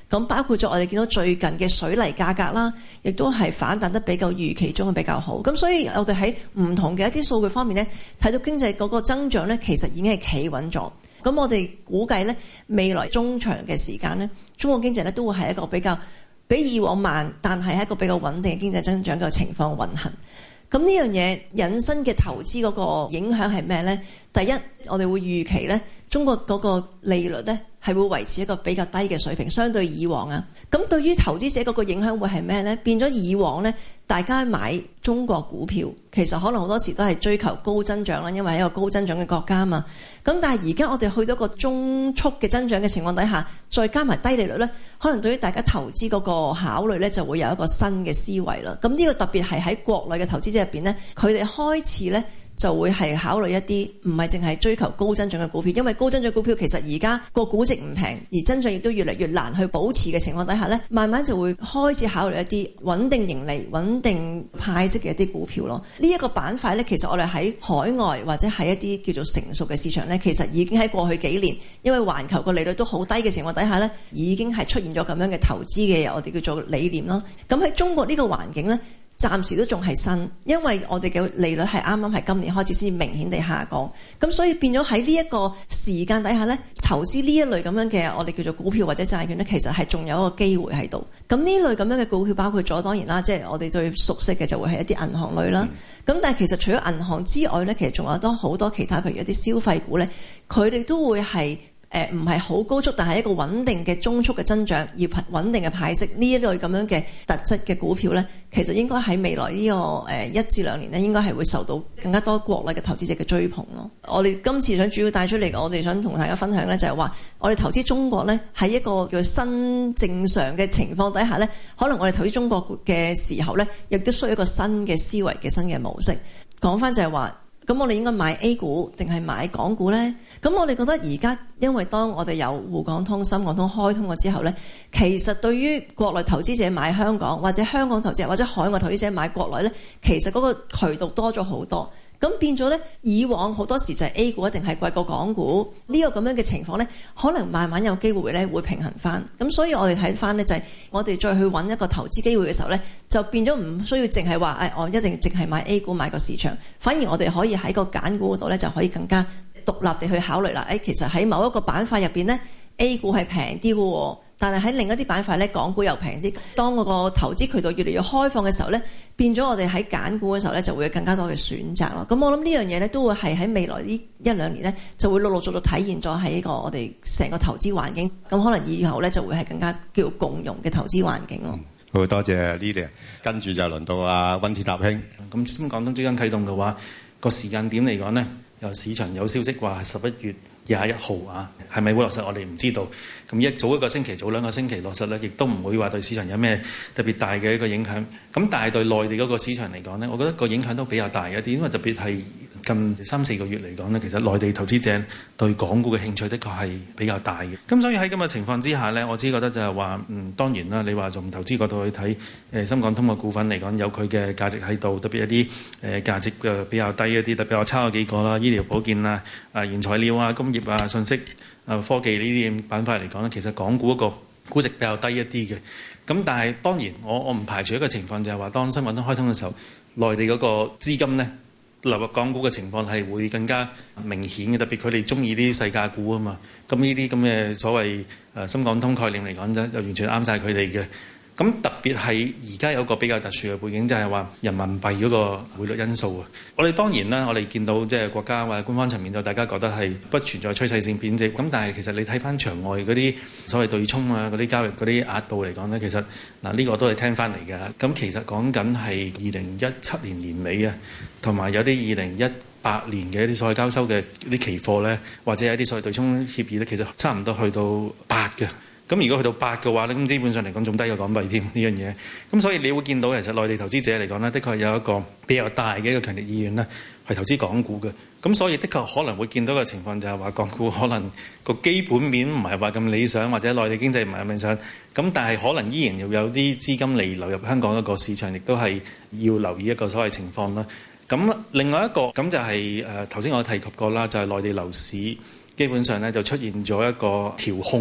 咁包括咗我哋見到最近嘅水泥價格啦，亦都係反彈得比較預期中嘅比較好。咁所以我哋喺唔同嘅一啲數據方面咧，睇到經濟嗰個增長咧，其實已經係企穩咗。咁我哋估計咧，未來中長嘅時間咧，中國經濟咧都會係一個比較比以往慢，但係係一個比較穩定嘅經濟增長嘅情況運行。咁呢樣嘢引申嘅投資嗰個影響係咩呢？第一，我哋會預期呢中國嗰個利率呢係會維持一個比較低嘅水平，相對以往啊。咁對於投資者嗰個影響會係咩呢？變咗以往呢，大家買中國股票，其實可能好多時都係追求高增長啦，因為係一個高增長嘅國家嘛。咁但係而家我哋去到一個中速嘅增長嘅情況底下，再加埋低利率呢，可能對於大家投資嗰個考慮呢，就會有一個新嘅思維啦。咁呢個特別係喺國內嘅投資者入邊呢，佢哋開始呢，就會係考慮一啲唔係淨係追求高增長嘅股票，因為高增長股票其實而家個估值唔平，而增長亦都越嚟越難去保持嘅情況底下呢，慢慢就會開始考慮一啲穩定盈利、穩定派息嘅一啲股票咯。呢、這、一個板塊呢，其實我哋喺海外或者係一啲叫做成熟嘅市場呢，其實已經喺過去幾年，因為環球個利率都好低嘅情況底下呢，已經係出現咗咁樣嘅投資嘅我哋叫做理念咯。咁喺中國呢個環境呢，暫時都仲係新，因為我哋嘅利率係啱啱係今年開始先明顯地下降，咁所以變咗喺呢一個時間底下呢，投資呢一類咁樣嘅我哋叫做股票或者債券呢，其實係仲有一個機會喺度。咁呢類咁樣嘅股票包括咗當然啦，即係我哋最熟悉嘅就會係一啲銀行類啦。咁、嗯、但係其實除咗銀行之外呢，其實仲有多好多其他，譬如一啲消費股呢，佢哋都會係誒唔係好高速，但係一個穩定嘅中速嘅增長，要穩定嘅派息呢一類咁樣嘅特質嘅股票呢，其實應該喺未來呢個誒一至兩年呢，應該係會受到更加多國內嘅投資者嘅追捧咯。我哋今次想主要帶出嚟，我哋想同大家分享呢，就係話我哋投資中國呢，喺一個叫新正常嘅情況底下呢，可能我哋投資中國嘅時候呢，亦都需要一個新嘅思維嘅新嘅模式。講翻就係話，咁我哋應該買 A 股定係買港股呢？咁我哋覺得而家因為當我哋有滬港通、深港通開通咗之後呢，其實對於國內投資者買香港，或者香港投資者或者海外投資者買國內呢，其實嗰個渠道多咗好多。咁變咗呢，以往好多時就係 A 股一定係貴過港股呢個咁樣嘅情況呢，可能慢慢有機會呢會平衡翻。咁所以我哋睇翻呢，就係我哋再去揾一個投資機會嘅時候呢，就變咗唔需要淨係話誒我一定淨係買 A 股買個市場，反而我哋可以喺個揀股嗰度呢，就可以更加獨立地去考慮啦。誒其實喺某一個板塊入邊呢， A 股係平啲嘅喎，但係喺另一啲板塊呢，港股又平啲。當嗰個投資渠道越嚟越開放嘅時候呢，變咗我哋喺揀股嘅時候呢，就會有更加多嘅選擇咯。咁我諗呢樣嘢呢，都會係喺未來呢一兩年呢，就會陸陸續續體現咗喺呢個我哋成個投資環境。咁可能以後呢，就會係更加叫共融嘅投資環境咯。 好多謝 Lily， 跟住就輪到阿溫天納兄。 咁深港通即將啟動嘅話，個時間點嚟講呢，由市場有消息話係十一月廿一號啊，係咪會落實我哋唔知道。咁一早一個星期，早兩個星期落實咧，亦都唔會話對市場有咩特別大嘅一個影響。咁但係對內地嗰個市場嚟講呢，我覺得個影響都比較大一啲，因為特別係近三四個月嚟講呢，其實內地投資者對港股嘅興趣的確係比較大嘅。咁所以喺咁嘅情況之下呢，我只覺得就係話，嗯，當然啦，你話從投資角度去睇，誒深港通嘅股份嚟講，有佢嘅價值喺度，特別一啲誒價值嘅比較低一啲，特別我抄咗幾個啦，醫療保健啊、啊原材料啊、工業啊、信息啊、科技呢啲板塊嚟講呢，其實港股嗰個估值比較低一啲嘅。咁但係當然我我唔排除一個情況，就係話當深港通開通嘅時候，內地嗰個資金呢流入港股嘅情況係會更加明顯嘅，特別佢哋中意啲細價股啊嘛。咁呢啲咁嘅所謂誒深港通概念嚟講咧，就完全啱晒佢哋嘅。咁特別係而家有個比較特殊嘅背景，就係話人民幣嗰個匯率因素啊。我哋當然啦，我哋見到即係國家或者官方層面就大家覺得係不存在趨勢性貶值。咁但係其實你睇翻場外嗰啲所謂對沖啊、嗰啲交易嗰啲額度嚟講呢，其實嗱呢個都係聽翻嚟嘅。咁其實講緊係二零一七年年尾啊，同埋有啲二零一八年嘅一啲所謂交收嘅啲期貨呢，或者係一啲所謂對沖協議呢，其實差唔多去到八嘅。咁如果去到八嘅話咧，咁基本上嚟講仲低過港幣添呢樣嘢。咁所以你會見到其實內地投資者嚟講呢，的確有一個比較大嘅一個強烈意願呢，去投資港股嘅。咁所以的確可能會見到嘅情況就係話，港股可能個基本面唔係話咁理想，或者內地經濟唔係咁理想。咁但係可能依然要有啲資金嚟流入香港一個市場，亦都係要留意一個所謂情況啦。咁另外一個咁就係誒頭先我提及過啦，就係內地樓市基本上咧就出現咗一個調控啊。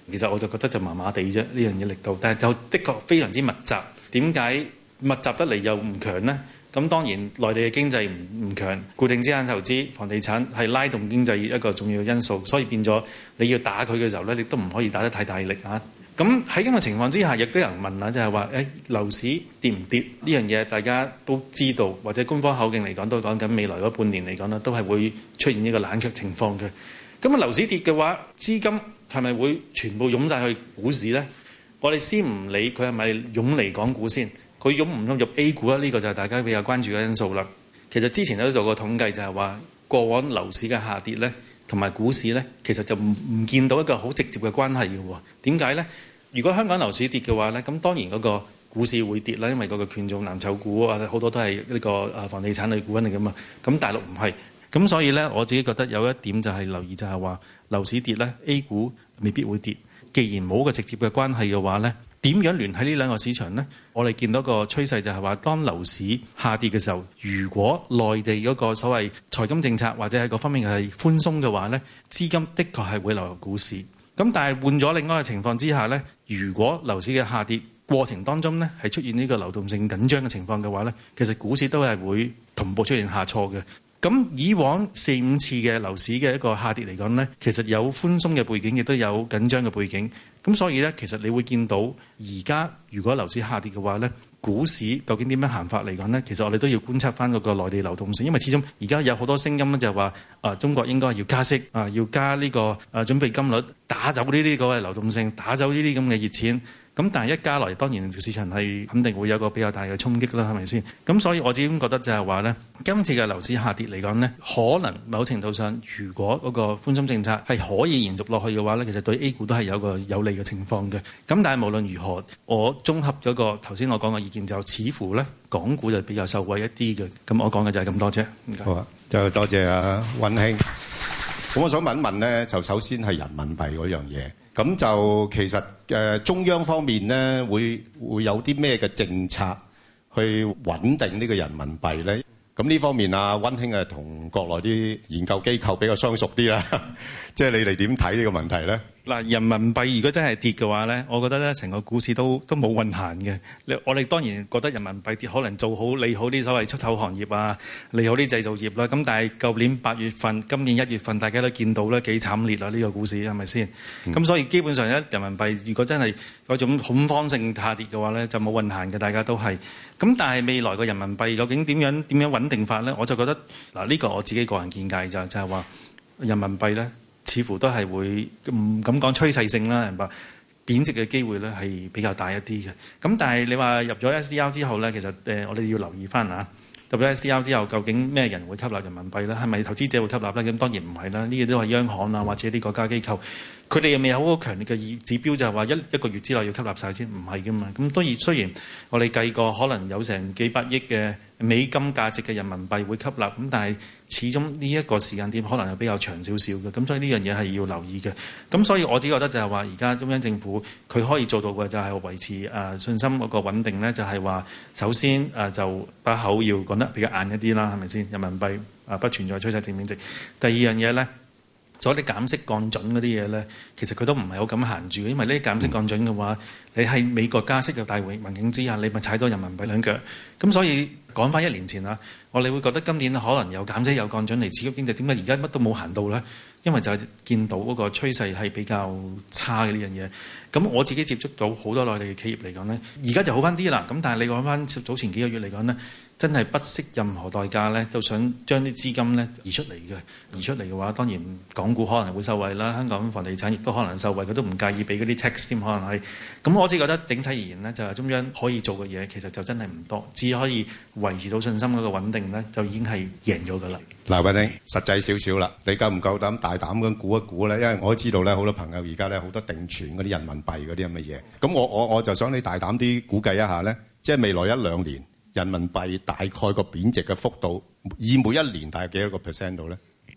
其實我就覺得就麻麻地啫，呢樣嘢力度，但係就的確非常之密集。點解密集得嚟又唔強呢？咁當然內地嘅經濟唔唔強，固定資產投資、房地產係拉動經濟一個重要因素，所以變咗你要打佢嘅時候咧，你都唔可以打得太大力啊。咁喺咁嘅情況之下，亦都有人問啦，就係話誒樓市跌唔跌呢樣嘢？大家都知道，或者官方口徑嚟講都講緊未來嗰半年嚟講咧，都係會出現呢個冷卻情況嘅。咁啊樓市跌嘅話，資金係咪會全部湧晒去股市呢？我哋先唔理佢係咪湧嚟港股先。佢湧唔湧入 A 股啊？呢、這個就係大家比較關注嘅因素啦。其實之前都做過統計，就係話過往樓市嘅下跌呢，同埋股市呢，其實就唔唔見到一個好直接嘅關係嘅喎。點解呢？如果香港樓市跌嘅話呢，咁當然嗰個股市會跌啦，因為嗰個權重藍籌股啊，好多都係呢個誒房地產類股嚟噶嘛。咁大陸唔係，咁所以呢，我自己覺得有一點就係留意，就係話樓市跌呢 A 股未必會跌。既然冇個直接嘅關係嘅話呢，點樣聯繫呢兩個市場呢？我哋見到個趨勢就係話，當樓市下跌嘅時候，如果內地嗰個所謂財金政策或者係各方面係寬鬆嘅話呢，資金的確係會流入股市。咁但係換咗另外嘅情況之下呢，如果樓市嘅下跌過程當中呢係出現呢個流動性緊張嘅情況嘅話呢，其實股市都係會同步出現下挫嘅。咁以往四五次嘅樓市嘅一個下跌嚟講呢，其實有寬鬆嘅背景，亦都有緊張嘅背景。咁所以呢，其實你會見到而家如果樓市下跌嘅話呢，股市究竟點樣行法嚟講呢？其實我哋都要觀察翻嗰個內地流動性，因為始終而家有好多聲音咧，就係話啊，中國應該要加息啊，要加呢個啊準備金率，打走呢啲嗰個流動性，打走呢啲咁嘅熱錢。咁但係一加落嚟，當然市場係肯定會有個比較大嘅衝擊啦，係咪先？咁所以我自己覺得就係話呢，今次嘅樓市下跌嚟講呢，可能某程度上，如果嗰個寬鬆政策係可以延續落去嘅話呢，其實對 A 股都係有個有利嘅情況嘅。咁但係無論如何，我綜合咗個頭先我講嘅意見，就似乎呢港股就比較受惠一啲嘅。咁我講嘅就係咁多啫。 好啊，就多謝阿溫兄。咁我想問一問呢，就首先係人民幣嗰樣嘢。咁就其實誒、呃、中央方面咧，會會有啲咩嘅政策去穩定呢個人民幣咧？咁呢方面啊，溫兄啊，同國內啲研究機構比較相熟啲啦，即係你哋點睇呢個問題咧？ 嗱，人民幣如果真係跌嘅話咧，我覺得咧成個股市都都冇運行嘅。我哋當然覺得人民幣跌可能做好利好啲所謂出口行業啊，利好啲製造業啦。咁但係舊年八月份、今年一月份，大家都見到咧幾慘烈啊！呢個股市係咪先？咁、嗯、所以基本上咧，人民幣如果真係嗰種恐慌性下跌嘅話咧，就冇運行嘅，大家都係。咁但係未來個人民幣究竟點樣點樣穩定法咧？我就覺得嗱，呢個我自己個人見解就就係話人民幣咧。似乎都係會唔敢講趨勢性啦，明白？貶值嘅機會咧係比較大一啲嘅。咁但係你話入咗 S D R 之後咧，其實誒我哋要留意翻啊。入咗 S D R 之後，究竟咩人會吸納人民幣咧？係咪投資者會吸納咧？咁當然唔係啦。呢啲都係央行啊，或者啲國家機構，佢哋又未有好強烈嘅指標，就係話一一個月之內要吸納晒先，唔係噶嘛。咁當然雖然我哋計過可能有成幾百億嘅美金價值嘅人民幣會吸納，咁但係始終呢一個時間點可能係比較長少少嘅，咁所以呢樣嘢係要留意嘅。咁所以我只覺得就係話，而家中央政府佢可以做到嘅就係維持誒、呃、信心嗰個穩定咧，就係、是、話首先誒、呃、就把口要講得比較硬一啲啦，係咪先？人民幣啊、呃、不存在趨勢性貶值。第二樣嘢咧，所謂啲減息降準嗰啲嘢咧，其實佢都唔係好敢行住，因為呢啲減息降準嘅話，你喺美國加息嘅大環境之下，你咪踩到人民幣兩腳。咁所以講翻一年前啊，我哋會覺得今年可能有減息有降準嚟刺激經濟，點解而家乜都冇行到咧？因為就係見到嗰個趨勢係比較差嘅呢樣嘢。咁我自己接觸到好多內地嘅企業嚟講咧，而家就好翻啲啦。咁但係你講翻早前幾個月嚟講咧，真係不惜任何代價咧，就想將啲資金咧移出嚟嘅。移出嚟嘅話，當然港股可能會受惠啦，香港房地產亦都可能受惠，佢都唔介意俾嗰啲 tax 添，可能係。咁我只覺得整體而言呢，就係中央可以做嘅嘢，其實就真係唔多，只可以維持到信心嗰個穩定咧，就已經係贏咗㗎啦。 嗱，溫兄，實際少少啦，你夠唔夠膽大膽咁估一估咧？因為我都知道咧，好多朋友而家咧好多定存嗰啲人民幣嗰啲咁嘅嘢。咁我我我就想你大膽啲估計一下咧，即係未來一兩年人民幣大概個貶值嘅幅度，以每一年大概幾多個 percent 度咧？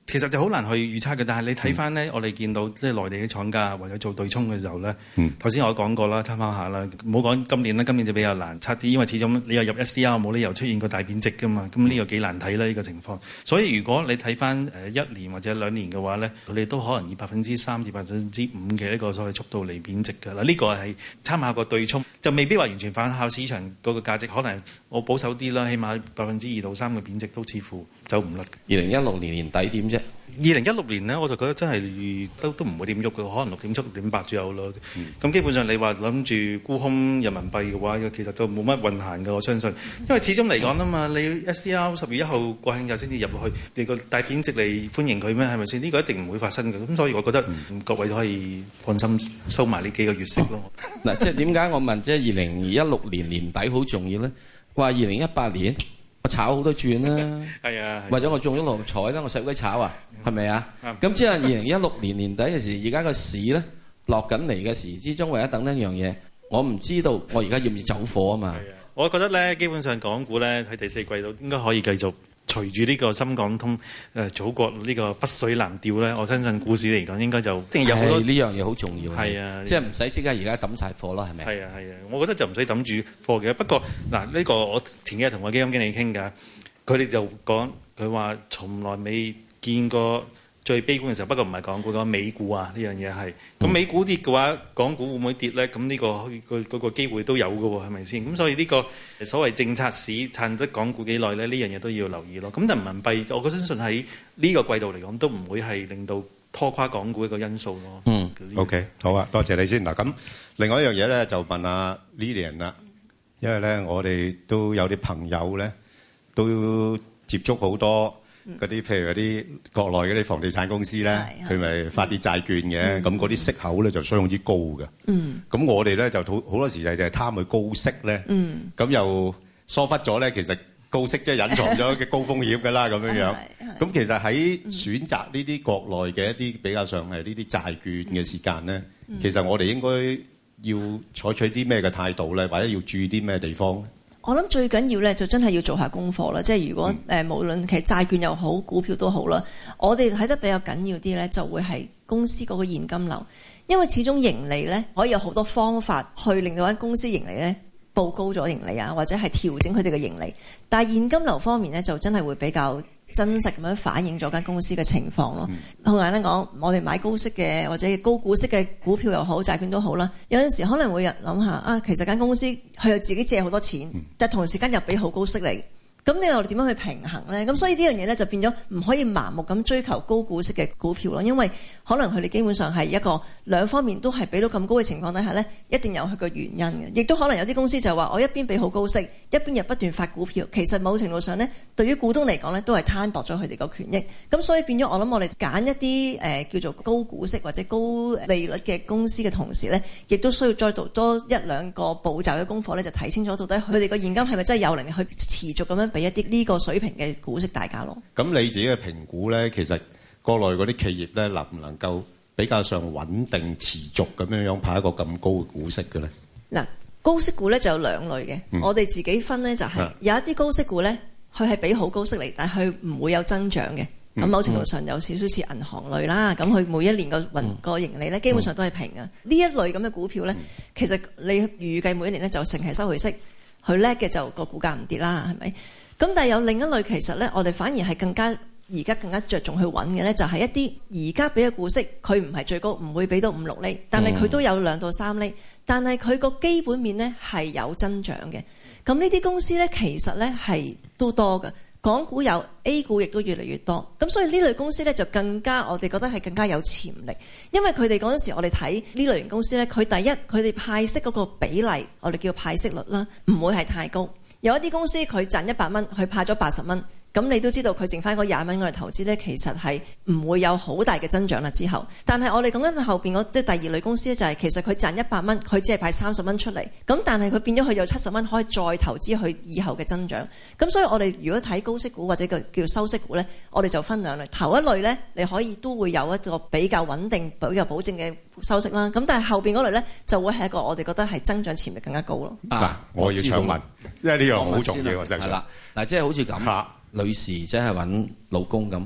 其實就好難去預測嘅，但係你睇翻咧，嗯、我哋見到即係內地啲廠家為咗做對沖嘅時候咧，頭先、嗯、我講過啦，參考下啦，唔好講今年啦，今年就比較難測啲，因為始終你又入 S D R 冇理由出現個大貶值噶嘛，咁呢個幾難睇啦呢個情況。所以如果你睇翻誒一年或者兩年嘅話咧，佢哋都可能以百分之三至百分之五嘅一個所謂速度嚟貶值㗎啦。呢、呢個係參考個對沖，就未必話完全反效市場嗰個價值，可能我保守啲啦，起碼百分之二到三嘅貶值都似乎走唔甩。 二零一六年年底點啫？ 二零一六年呢，我就覺得真係都都唔會點喐嘅，可能六點七、六點八左右咯。咁、嗯、基本上你話諗住沽空人民幣嘅話，其實就冇乜運行嘅，我相信。因為始終嚟講啊嘛，你 S D R 十月一號國慶日先至入落去，你個大貶值嚟歡迎佢咩？係咪先？呢、這個一定唔會發生嘅。咁所以我覺得、嗯、各位都可以放心收埋呢幾個月息咯。 嗱、哦，即係點解我問即係二零一六年年底好重要咧？話二零一八年。我炒好多轉啦， 係啊， 或者我中咗六合彩啦，我使鬼炒啊，係咪啊？咁即係二零一六年年底嘅時，而家個市咧落緊嚟嘅時之中，為咗等一樣嘢，我唔知道我而家要唔要走貨啊嘛。 我覺得咧，基本上港股咧喺第四季度應該可以繼續隨住呢個深港通誒、呃、祖國呢個北水南調咧，我相信股市嚟講應該就一定有好多呢樣嘢好重要。 係啊， 即係唔使即刻而家抌晒貨咯，係咪？ 係啊係啊，我覺得就唔使抌住貨嘅。不過嗱，呢、呢個我前幾日同我基金經理傾㗎，佢哋就講佢話從來未見過最悲觀嘅時候。不過唔係港股，講美股啊，呢樣嘢係。咁美股跌嘅話，港股會唔會跌咧？咁呢、呢個個嗰、嗰個機會都有嘅喎，係咪先？咁所以呢個所謂政策市撐得港股幾耐咧？呢樣嘢都要留意咯。咁人民幣，我相信喺呢個季度嚟講，都唔會係令到拖垮港股一個因素咯。 嗯，OK，好啊，多謝你先。嗱，咁另外一樣嘢咧，就問阿 Lilian 啦，因為咧我哋都有啲朋友咧都接觸好多。嗰啲譬如嗰啲國內嗰啲房地產公司咧，佢咪發啲債券嘅，咁嗰啲息口咧就相當之高嘅。嗯，咁我哋咧就好好多時就係貪佢高息咧。嗯，咁又疏忽咗咧，其實高息即係隱藏咗嘅高風險㗎啦，咁樣樣。咁其實喺選擇呢啲國內嘅一啲比較上係呢啲債券嘅時間咧，嗯、其實我哋應該要採取啲咩嘅態度咧，或者要注意啲咩地方咧？ 我諗最緊要咧，就真係要做下功課啦。即係如果誒、嗯呃，無論其實債券又好，股票都好啦，我哋睇得比較緊要啲咧，就會係公司嗰個現金流，因為始終盈利咧可以有好多方法去令到間公司盈利咧報高咗盈利啊，或者係調整佢哋嘅盈利。但係現金流方面咧，就真係會比較真實咁樣反映咗間公司嘅情況咯。好、嗯、簡單講，我哋買高息嘅或者高股息嘅股票又好，債券都好啦。有陣時可能會諗下啊，其實間公司佢又自己借好多錢，嗯、但同時間又俾好高息嚟。咁你又點樣去平衡咧？咁所以呢樣嘢咧就變咗唔可以盲目咁追求高股息嘅股票咯，因為可能佢哋基本上係一個兩方面都係俾到咁高嘅情況底下咧，一定有佢個原因嘅。亦都可能有啲公司就話我一邊俾好高息，一邊又不斷發股票，其實某程度上咧，對於股東嚟講咧，都係攤薄咗佢哋個權益。咁所以變咗我諗我哋揀一啲誒、呃、叫做高股息或者高利率嘅公司嘅同時咧，亦都需要再做多一兩個步驟嘅功課咧，就睇清楚到底佢哋個現金係咪真係有能力去持續咁樣俾一啲呢個水平嘅股息大家咯。咁你自己嘅評估咧，其實國內嗰啲企業咧，能唔能夠比較上穩定持續咁樣樣派一個咁高嘅股息嘅咧？嗱， 高息股咧就有兩類嘅，嗯、我哋自己分咧就係、是、有一啲高息股咧，佢係俾好高息嚟，但係佢唔會有增長嘅。咁、嗯、某程度上有少少似銀行類啦。咁佢、嗯、每一年個運個盈利咧，基本上都係平嘅。呢、嗯、一類咁嘅股票咧，嗯、其實你預計每一年咧就成係收回息，佢叻嘅就個股價唔跌啦，係咪？咁但係有另一類，其實咧，我哋反而係更加而家更加着重去揾嘅咧，就係一啲而家俾嘅股息，佢唔係最高，唔會俾到五六厘，但係佢都有兩到三厘，但係佢個基本面咧係有增長嘅。咁呢啲公司咧，其實咧係都多嘅，港股有 A 股亦都越嚟越多。咁所以呢類公司咧就更加，我哋覺得係更加有潛力，因為佢哋嗰陣時我哋睇呢類型公司咧，佢第一佢哋派息嗰個比例，我哋叫派息率啦，唔會係太高。有一啲公司佢賺一百蚊，佢派咗八十蚊，咁你都知道佢剩翻嗰廿蚊我哋投資咧，其實係唔會有好大嘅增長啦。之後，但係我哋講緊後邊嗰即係第二類公司咧，就係其實佢賺一百蚊，佢只係派三十蚊出嚟，咁但係佢變咗佢有七十蚊可以再投資佢以後嘅增長。咁所以我哋如果睇高息股或者叫叫收息股咧，我哋就分兩類。頭一類咧，你可以都會有一個比較穩定、比較保證嘅收息啦。咁但係後邊嗰類咧，就會係一個我哋覺得係增長潛力更加高咯。嗱、啊， 我要搶問，因為呢樣好重要，我相信。係啦， 嗱，即係好似咁。女士即係揾老公咁，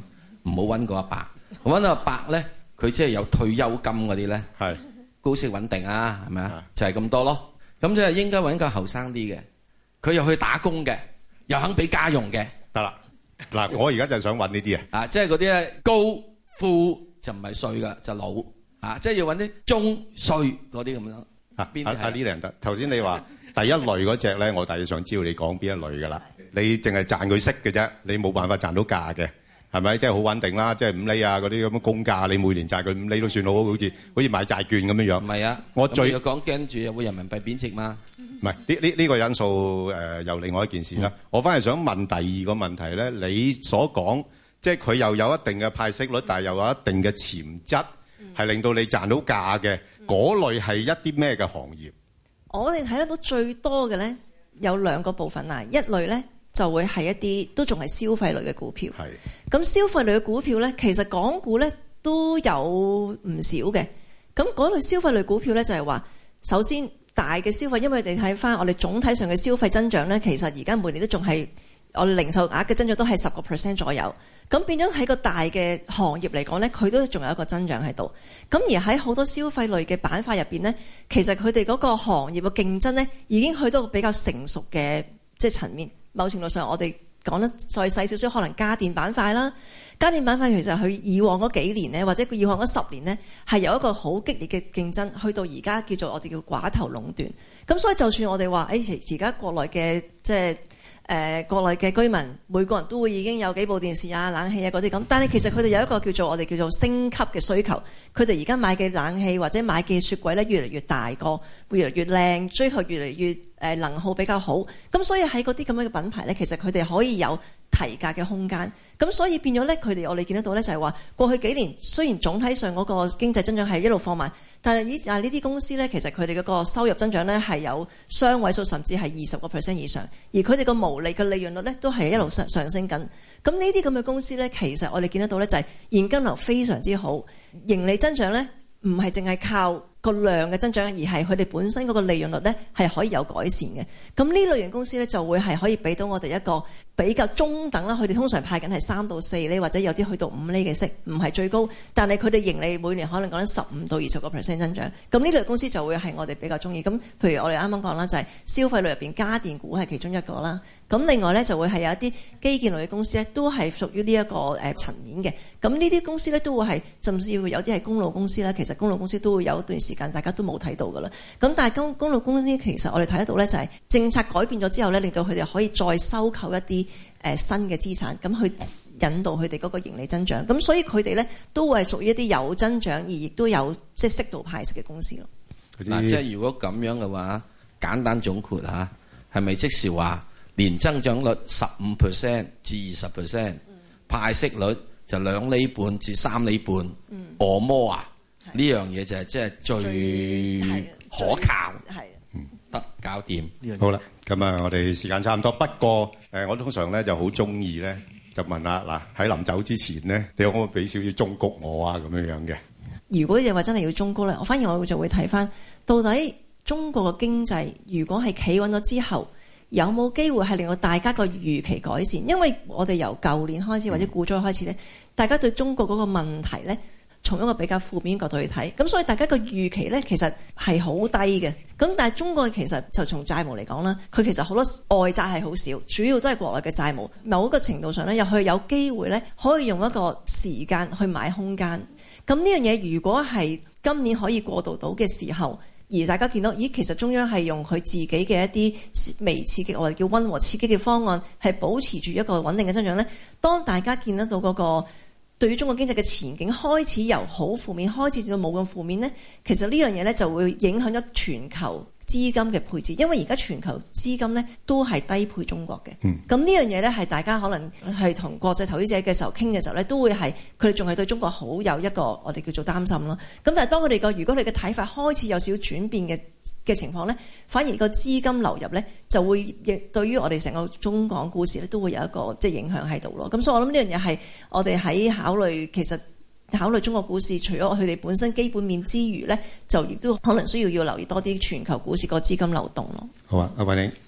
唔好揾個阿伯。揾到阿伯咧，佢即係有退休金嗰啲咧， 係高息穩定啊，係咪啊？就係咁多咯。咁即係應該揾個後生啲嘅，佢又去打工嘅，又肯俾家用嘅， 得啦。嗱，我而家就係想揾呢啲啊， 啊，即係嗰啲咧高富就唔係歲噶，就老啊，即係要揾啲中歲嗰啲咁樣。 啊，邊啲啊？呢兩得。頭先你話第一類嗰隻咧，我大約想知道你講邊一類噶啦。你淨係賺佢息嘅啫，你冇辦法賺到價嘅。係咪？即係好穩定啦，即係五厘啊嗰啲咁嘅公價，你每年債佢五厘都算好，好似好似買債券咁樣樣。唔係啊， 我最要講驚住有會人民幣貶值嘛？ 唔係呢呢呢個因素誒、呃，又另外一件事啦。嗯、我反而想問第二個問題咧，你所講即係佢又有一定嘅派息率，但係又有一定嘅潛質，係、嗯、令到你賺到價嘅嗰、嗯、類係一啲咩嘅行業？ 我哋睇得到最多嘅咧有兩個部分啊，一類咧。就會係一啲都仲係消費類嘅股票。係。咁消費類嘅股票咧，其實港股咧都有唔少嘅。咁嗰類消費類股票咧，就係話，首先大嘅消費，因為你睇翻我哋總體上嘅消費增長咧，其實而家每年都仲係我哋零售額嘅增長都係十個 percent 左右。咁變咗喺個大嘅行業嚟講咧，佢都仲有一個增長喺度。咁而喺好多消費類嘅板塊入邊咧，其實佢哋嗰個行業嘅競爭咧，已經去到比較成熟嘅即係層面。某程度上，我哋講得再細少少，可能家電板塊啦。家電板塊其實佢以往嗰幾年咧，或者佢以往嗰十年咧，係有一個好激烈嘅競爭，去到而家叫做我哋叫寡頭壟斷。咁所以就算我哋話，誒而家國內嘅即係誒國內嘅居民，每個人都會已經有幾部電視啊、冷氣啊嗰啲咁，但係其實佢哋有一個叫做我哋叫做升級嘅需求。佢哋而家買嘅冷氣或者買嘅雪櫃咧，越嚟越大個，會越嚟越靚，追求越嚟越誒能耗比較好。咁所以喺嗰啲咁樣嘅品牌咧，其實佢哋可以有提價嘅空間。咁所以變咗咧，佢哋我哋見得到咧，就係話過去幾年雖然總體上嗰個經濟增長係一路放慢，但係以啊呢啲公司咧，其實佢哋嗰個收入增長咧係有雙位數，甚至係二十個 percent 以上，而佢哋個毛利嘅利潤率咧都係一路上上升緊。咁呢啲咁嘅公司咧，其實我哋見得到咧，就係現金流非常之好，盈利增長咧唔係淨係靠個量嘅增長，而係佢哋本身嗰個利潤率咧係可以有改善嘅。咁呢類型公司咧就會係可以俾到我哋一個比較中等啦。佢哋通常派緊係三到四厘，或者有啲去到五厘嘅息，唔係最高，但係佢哋盈利每年可能講緊十五到二十個 percent 增長。咁呢類公司就會係我哋比較中意。咁譬如我哋啱啱講啦，就係消費類入邊家電股係其中一個啦。咁另外咧就會係有一啲基建類嘅公司咧，都係屬於呢一個誒層面嘅。咁呢啲公司咧都會係，甚至乎有啲係公路公司啦。其實公路公司都會有一段時間大家都冇睇到㗎啦。咁但係公公路公司其實我哋睇得到咧，就係政策改變咗之後咧，令到佢哋可以再收購一啲誒新嘅資產，咁去引導佢哋嗰個盈利增長。咁所以佢哋咧都會係屬於一啲有增長而亦都有即係適度派息嘅公司咯。 嗱，即係如果咁樣嘅話，簡單總括嚇，係咪即是話年增長率十五 percent 至二十 percent， 派息率就兩厘半至三厘半，按摩啊？呢樣嘢就係即係最可靠，係得搞掂。 好啦，咁啊，我哋時間差唔多。不過誒，我通常咧就好中意咧，就問下嗱，喺臨走之前咧，你可唔可以俾少少忠告我啊？咁樣樣嘅。如果你話真係要忠告咧，我反而我就會睇翻，到底中國嘅經濟如果係企穩咗之後，有冇機會係令到大家個預期改善？因為我哋由舊年開始或者股災開始咧，大家對中國嗰個問題咧，從一個比較負面角度去睇，咁所以大家個預期咧其實係好低嘅。咁但係中國其實就從債務嚟講啦，佢其實好多外債係好少，主要都係國內嘅債務。某一個程度上咧，又去有機會咧，可以用一個時間去買空間。咁呢樣嘢如果係今年可以過渡到嘅時候，而大家見到，咦，其實中央係用佢自己嘅一啲微刺激，我哋叫溫和刺激嘅方案，係保持住一個穩定嘅增長咧。當大家見得到嗰個對於中國經濟嘅前景開始由好負面開始到冇咁負面呢，其實呢樣嘢呢就會影響咗全球資金嘅配置，因為而家全球資金呢都係低配中國嘅。咁呢樣嘢呢係大家可能係同國際投資者嘅時候傾嘅時候呢，都會係佢哋仲係對中國好有一個我哋叫做擔心咯。咁但係當佢哋個如果你嘅睇法開始有少少轉變嘅嘅情況呢，反而個資金流入呢就會亦對於我哋成個中港股市呢都會有一個即係影響喺度咯。咁所以我諗呢樣嘢係我哋喺考慮其實。考慮中國股市，除咗佢哋本身基本面之餘咧，就亦都可能需要要留意多啲全球股市個資金流動咯。好啊，阿韋玲。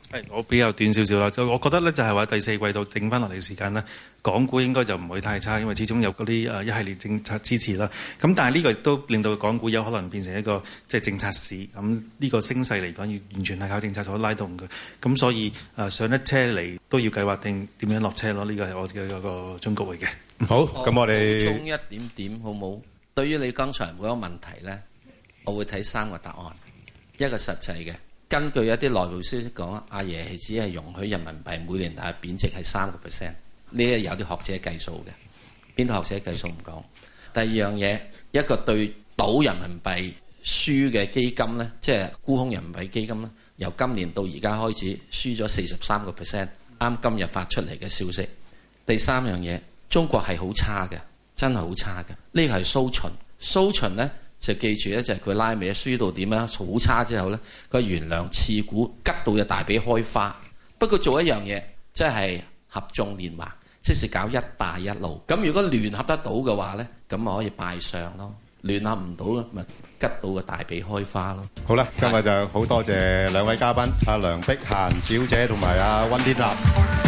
係，我比較短少少啦。就我覺得咧，就係話第四季度整翻落嚟嘅時間咧，港股應該就唔會太差，因為始終有嗰啲誒一系列政策支持啦。咁但係呢個亦都令到港股有可能變成一個即係政策市。咁呢個升勢嚟講，要完全係靠政策所拉動嘅。咁所以誒上一車嚟都要計劃定點樣落車咯。呢個係我嘅一個忠告嚟嘅。 好，咁我哋補充一點點好冇？對於你剛才嗰個問題咧，我會睇三個答案，一個實際嘅。根據一啲內部消息講，阿爺係只係容許人民幣每年大概貶值係三個 percent， 呢啲有啲學者計數嘅，邊度學者計數唔講。第二樣嘢，一個對賭人民幣輸嘅基金咧，即係沽空人民幣基金咧，由今年到而家開始輸咗四十三個 percent， 啱今日發出嚟嘅消息。第三樣嘢，中國係好差嘅，真係好差嘅。呢個係蘇秦，蘇秦咧。就記住咧，就係佢拉尾輸到點樣好差之後咧，佢原諒次股吉到隻大髀開花。不過做一樣嘢，即係合縱連橫，即是搞一帶一路。咁如果聯合得到嘅話咧，咁咪可以拜相咯。聯合唔到咧，咪吉到個大髀開花咯。 好啦，今日就好多謝兩位嘉賓，阿梁碧嫻小姐同埋阿溫天納。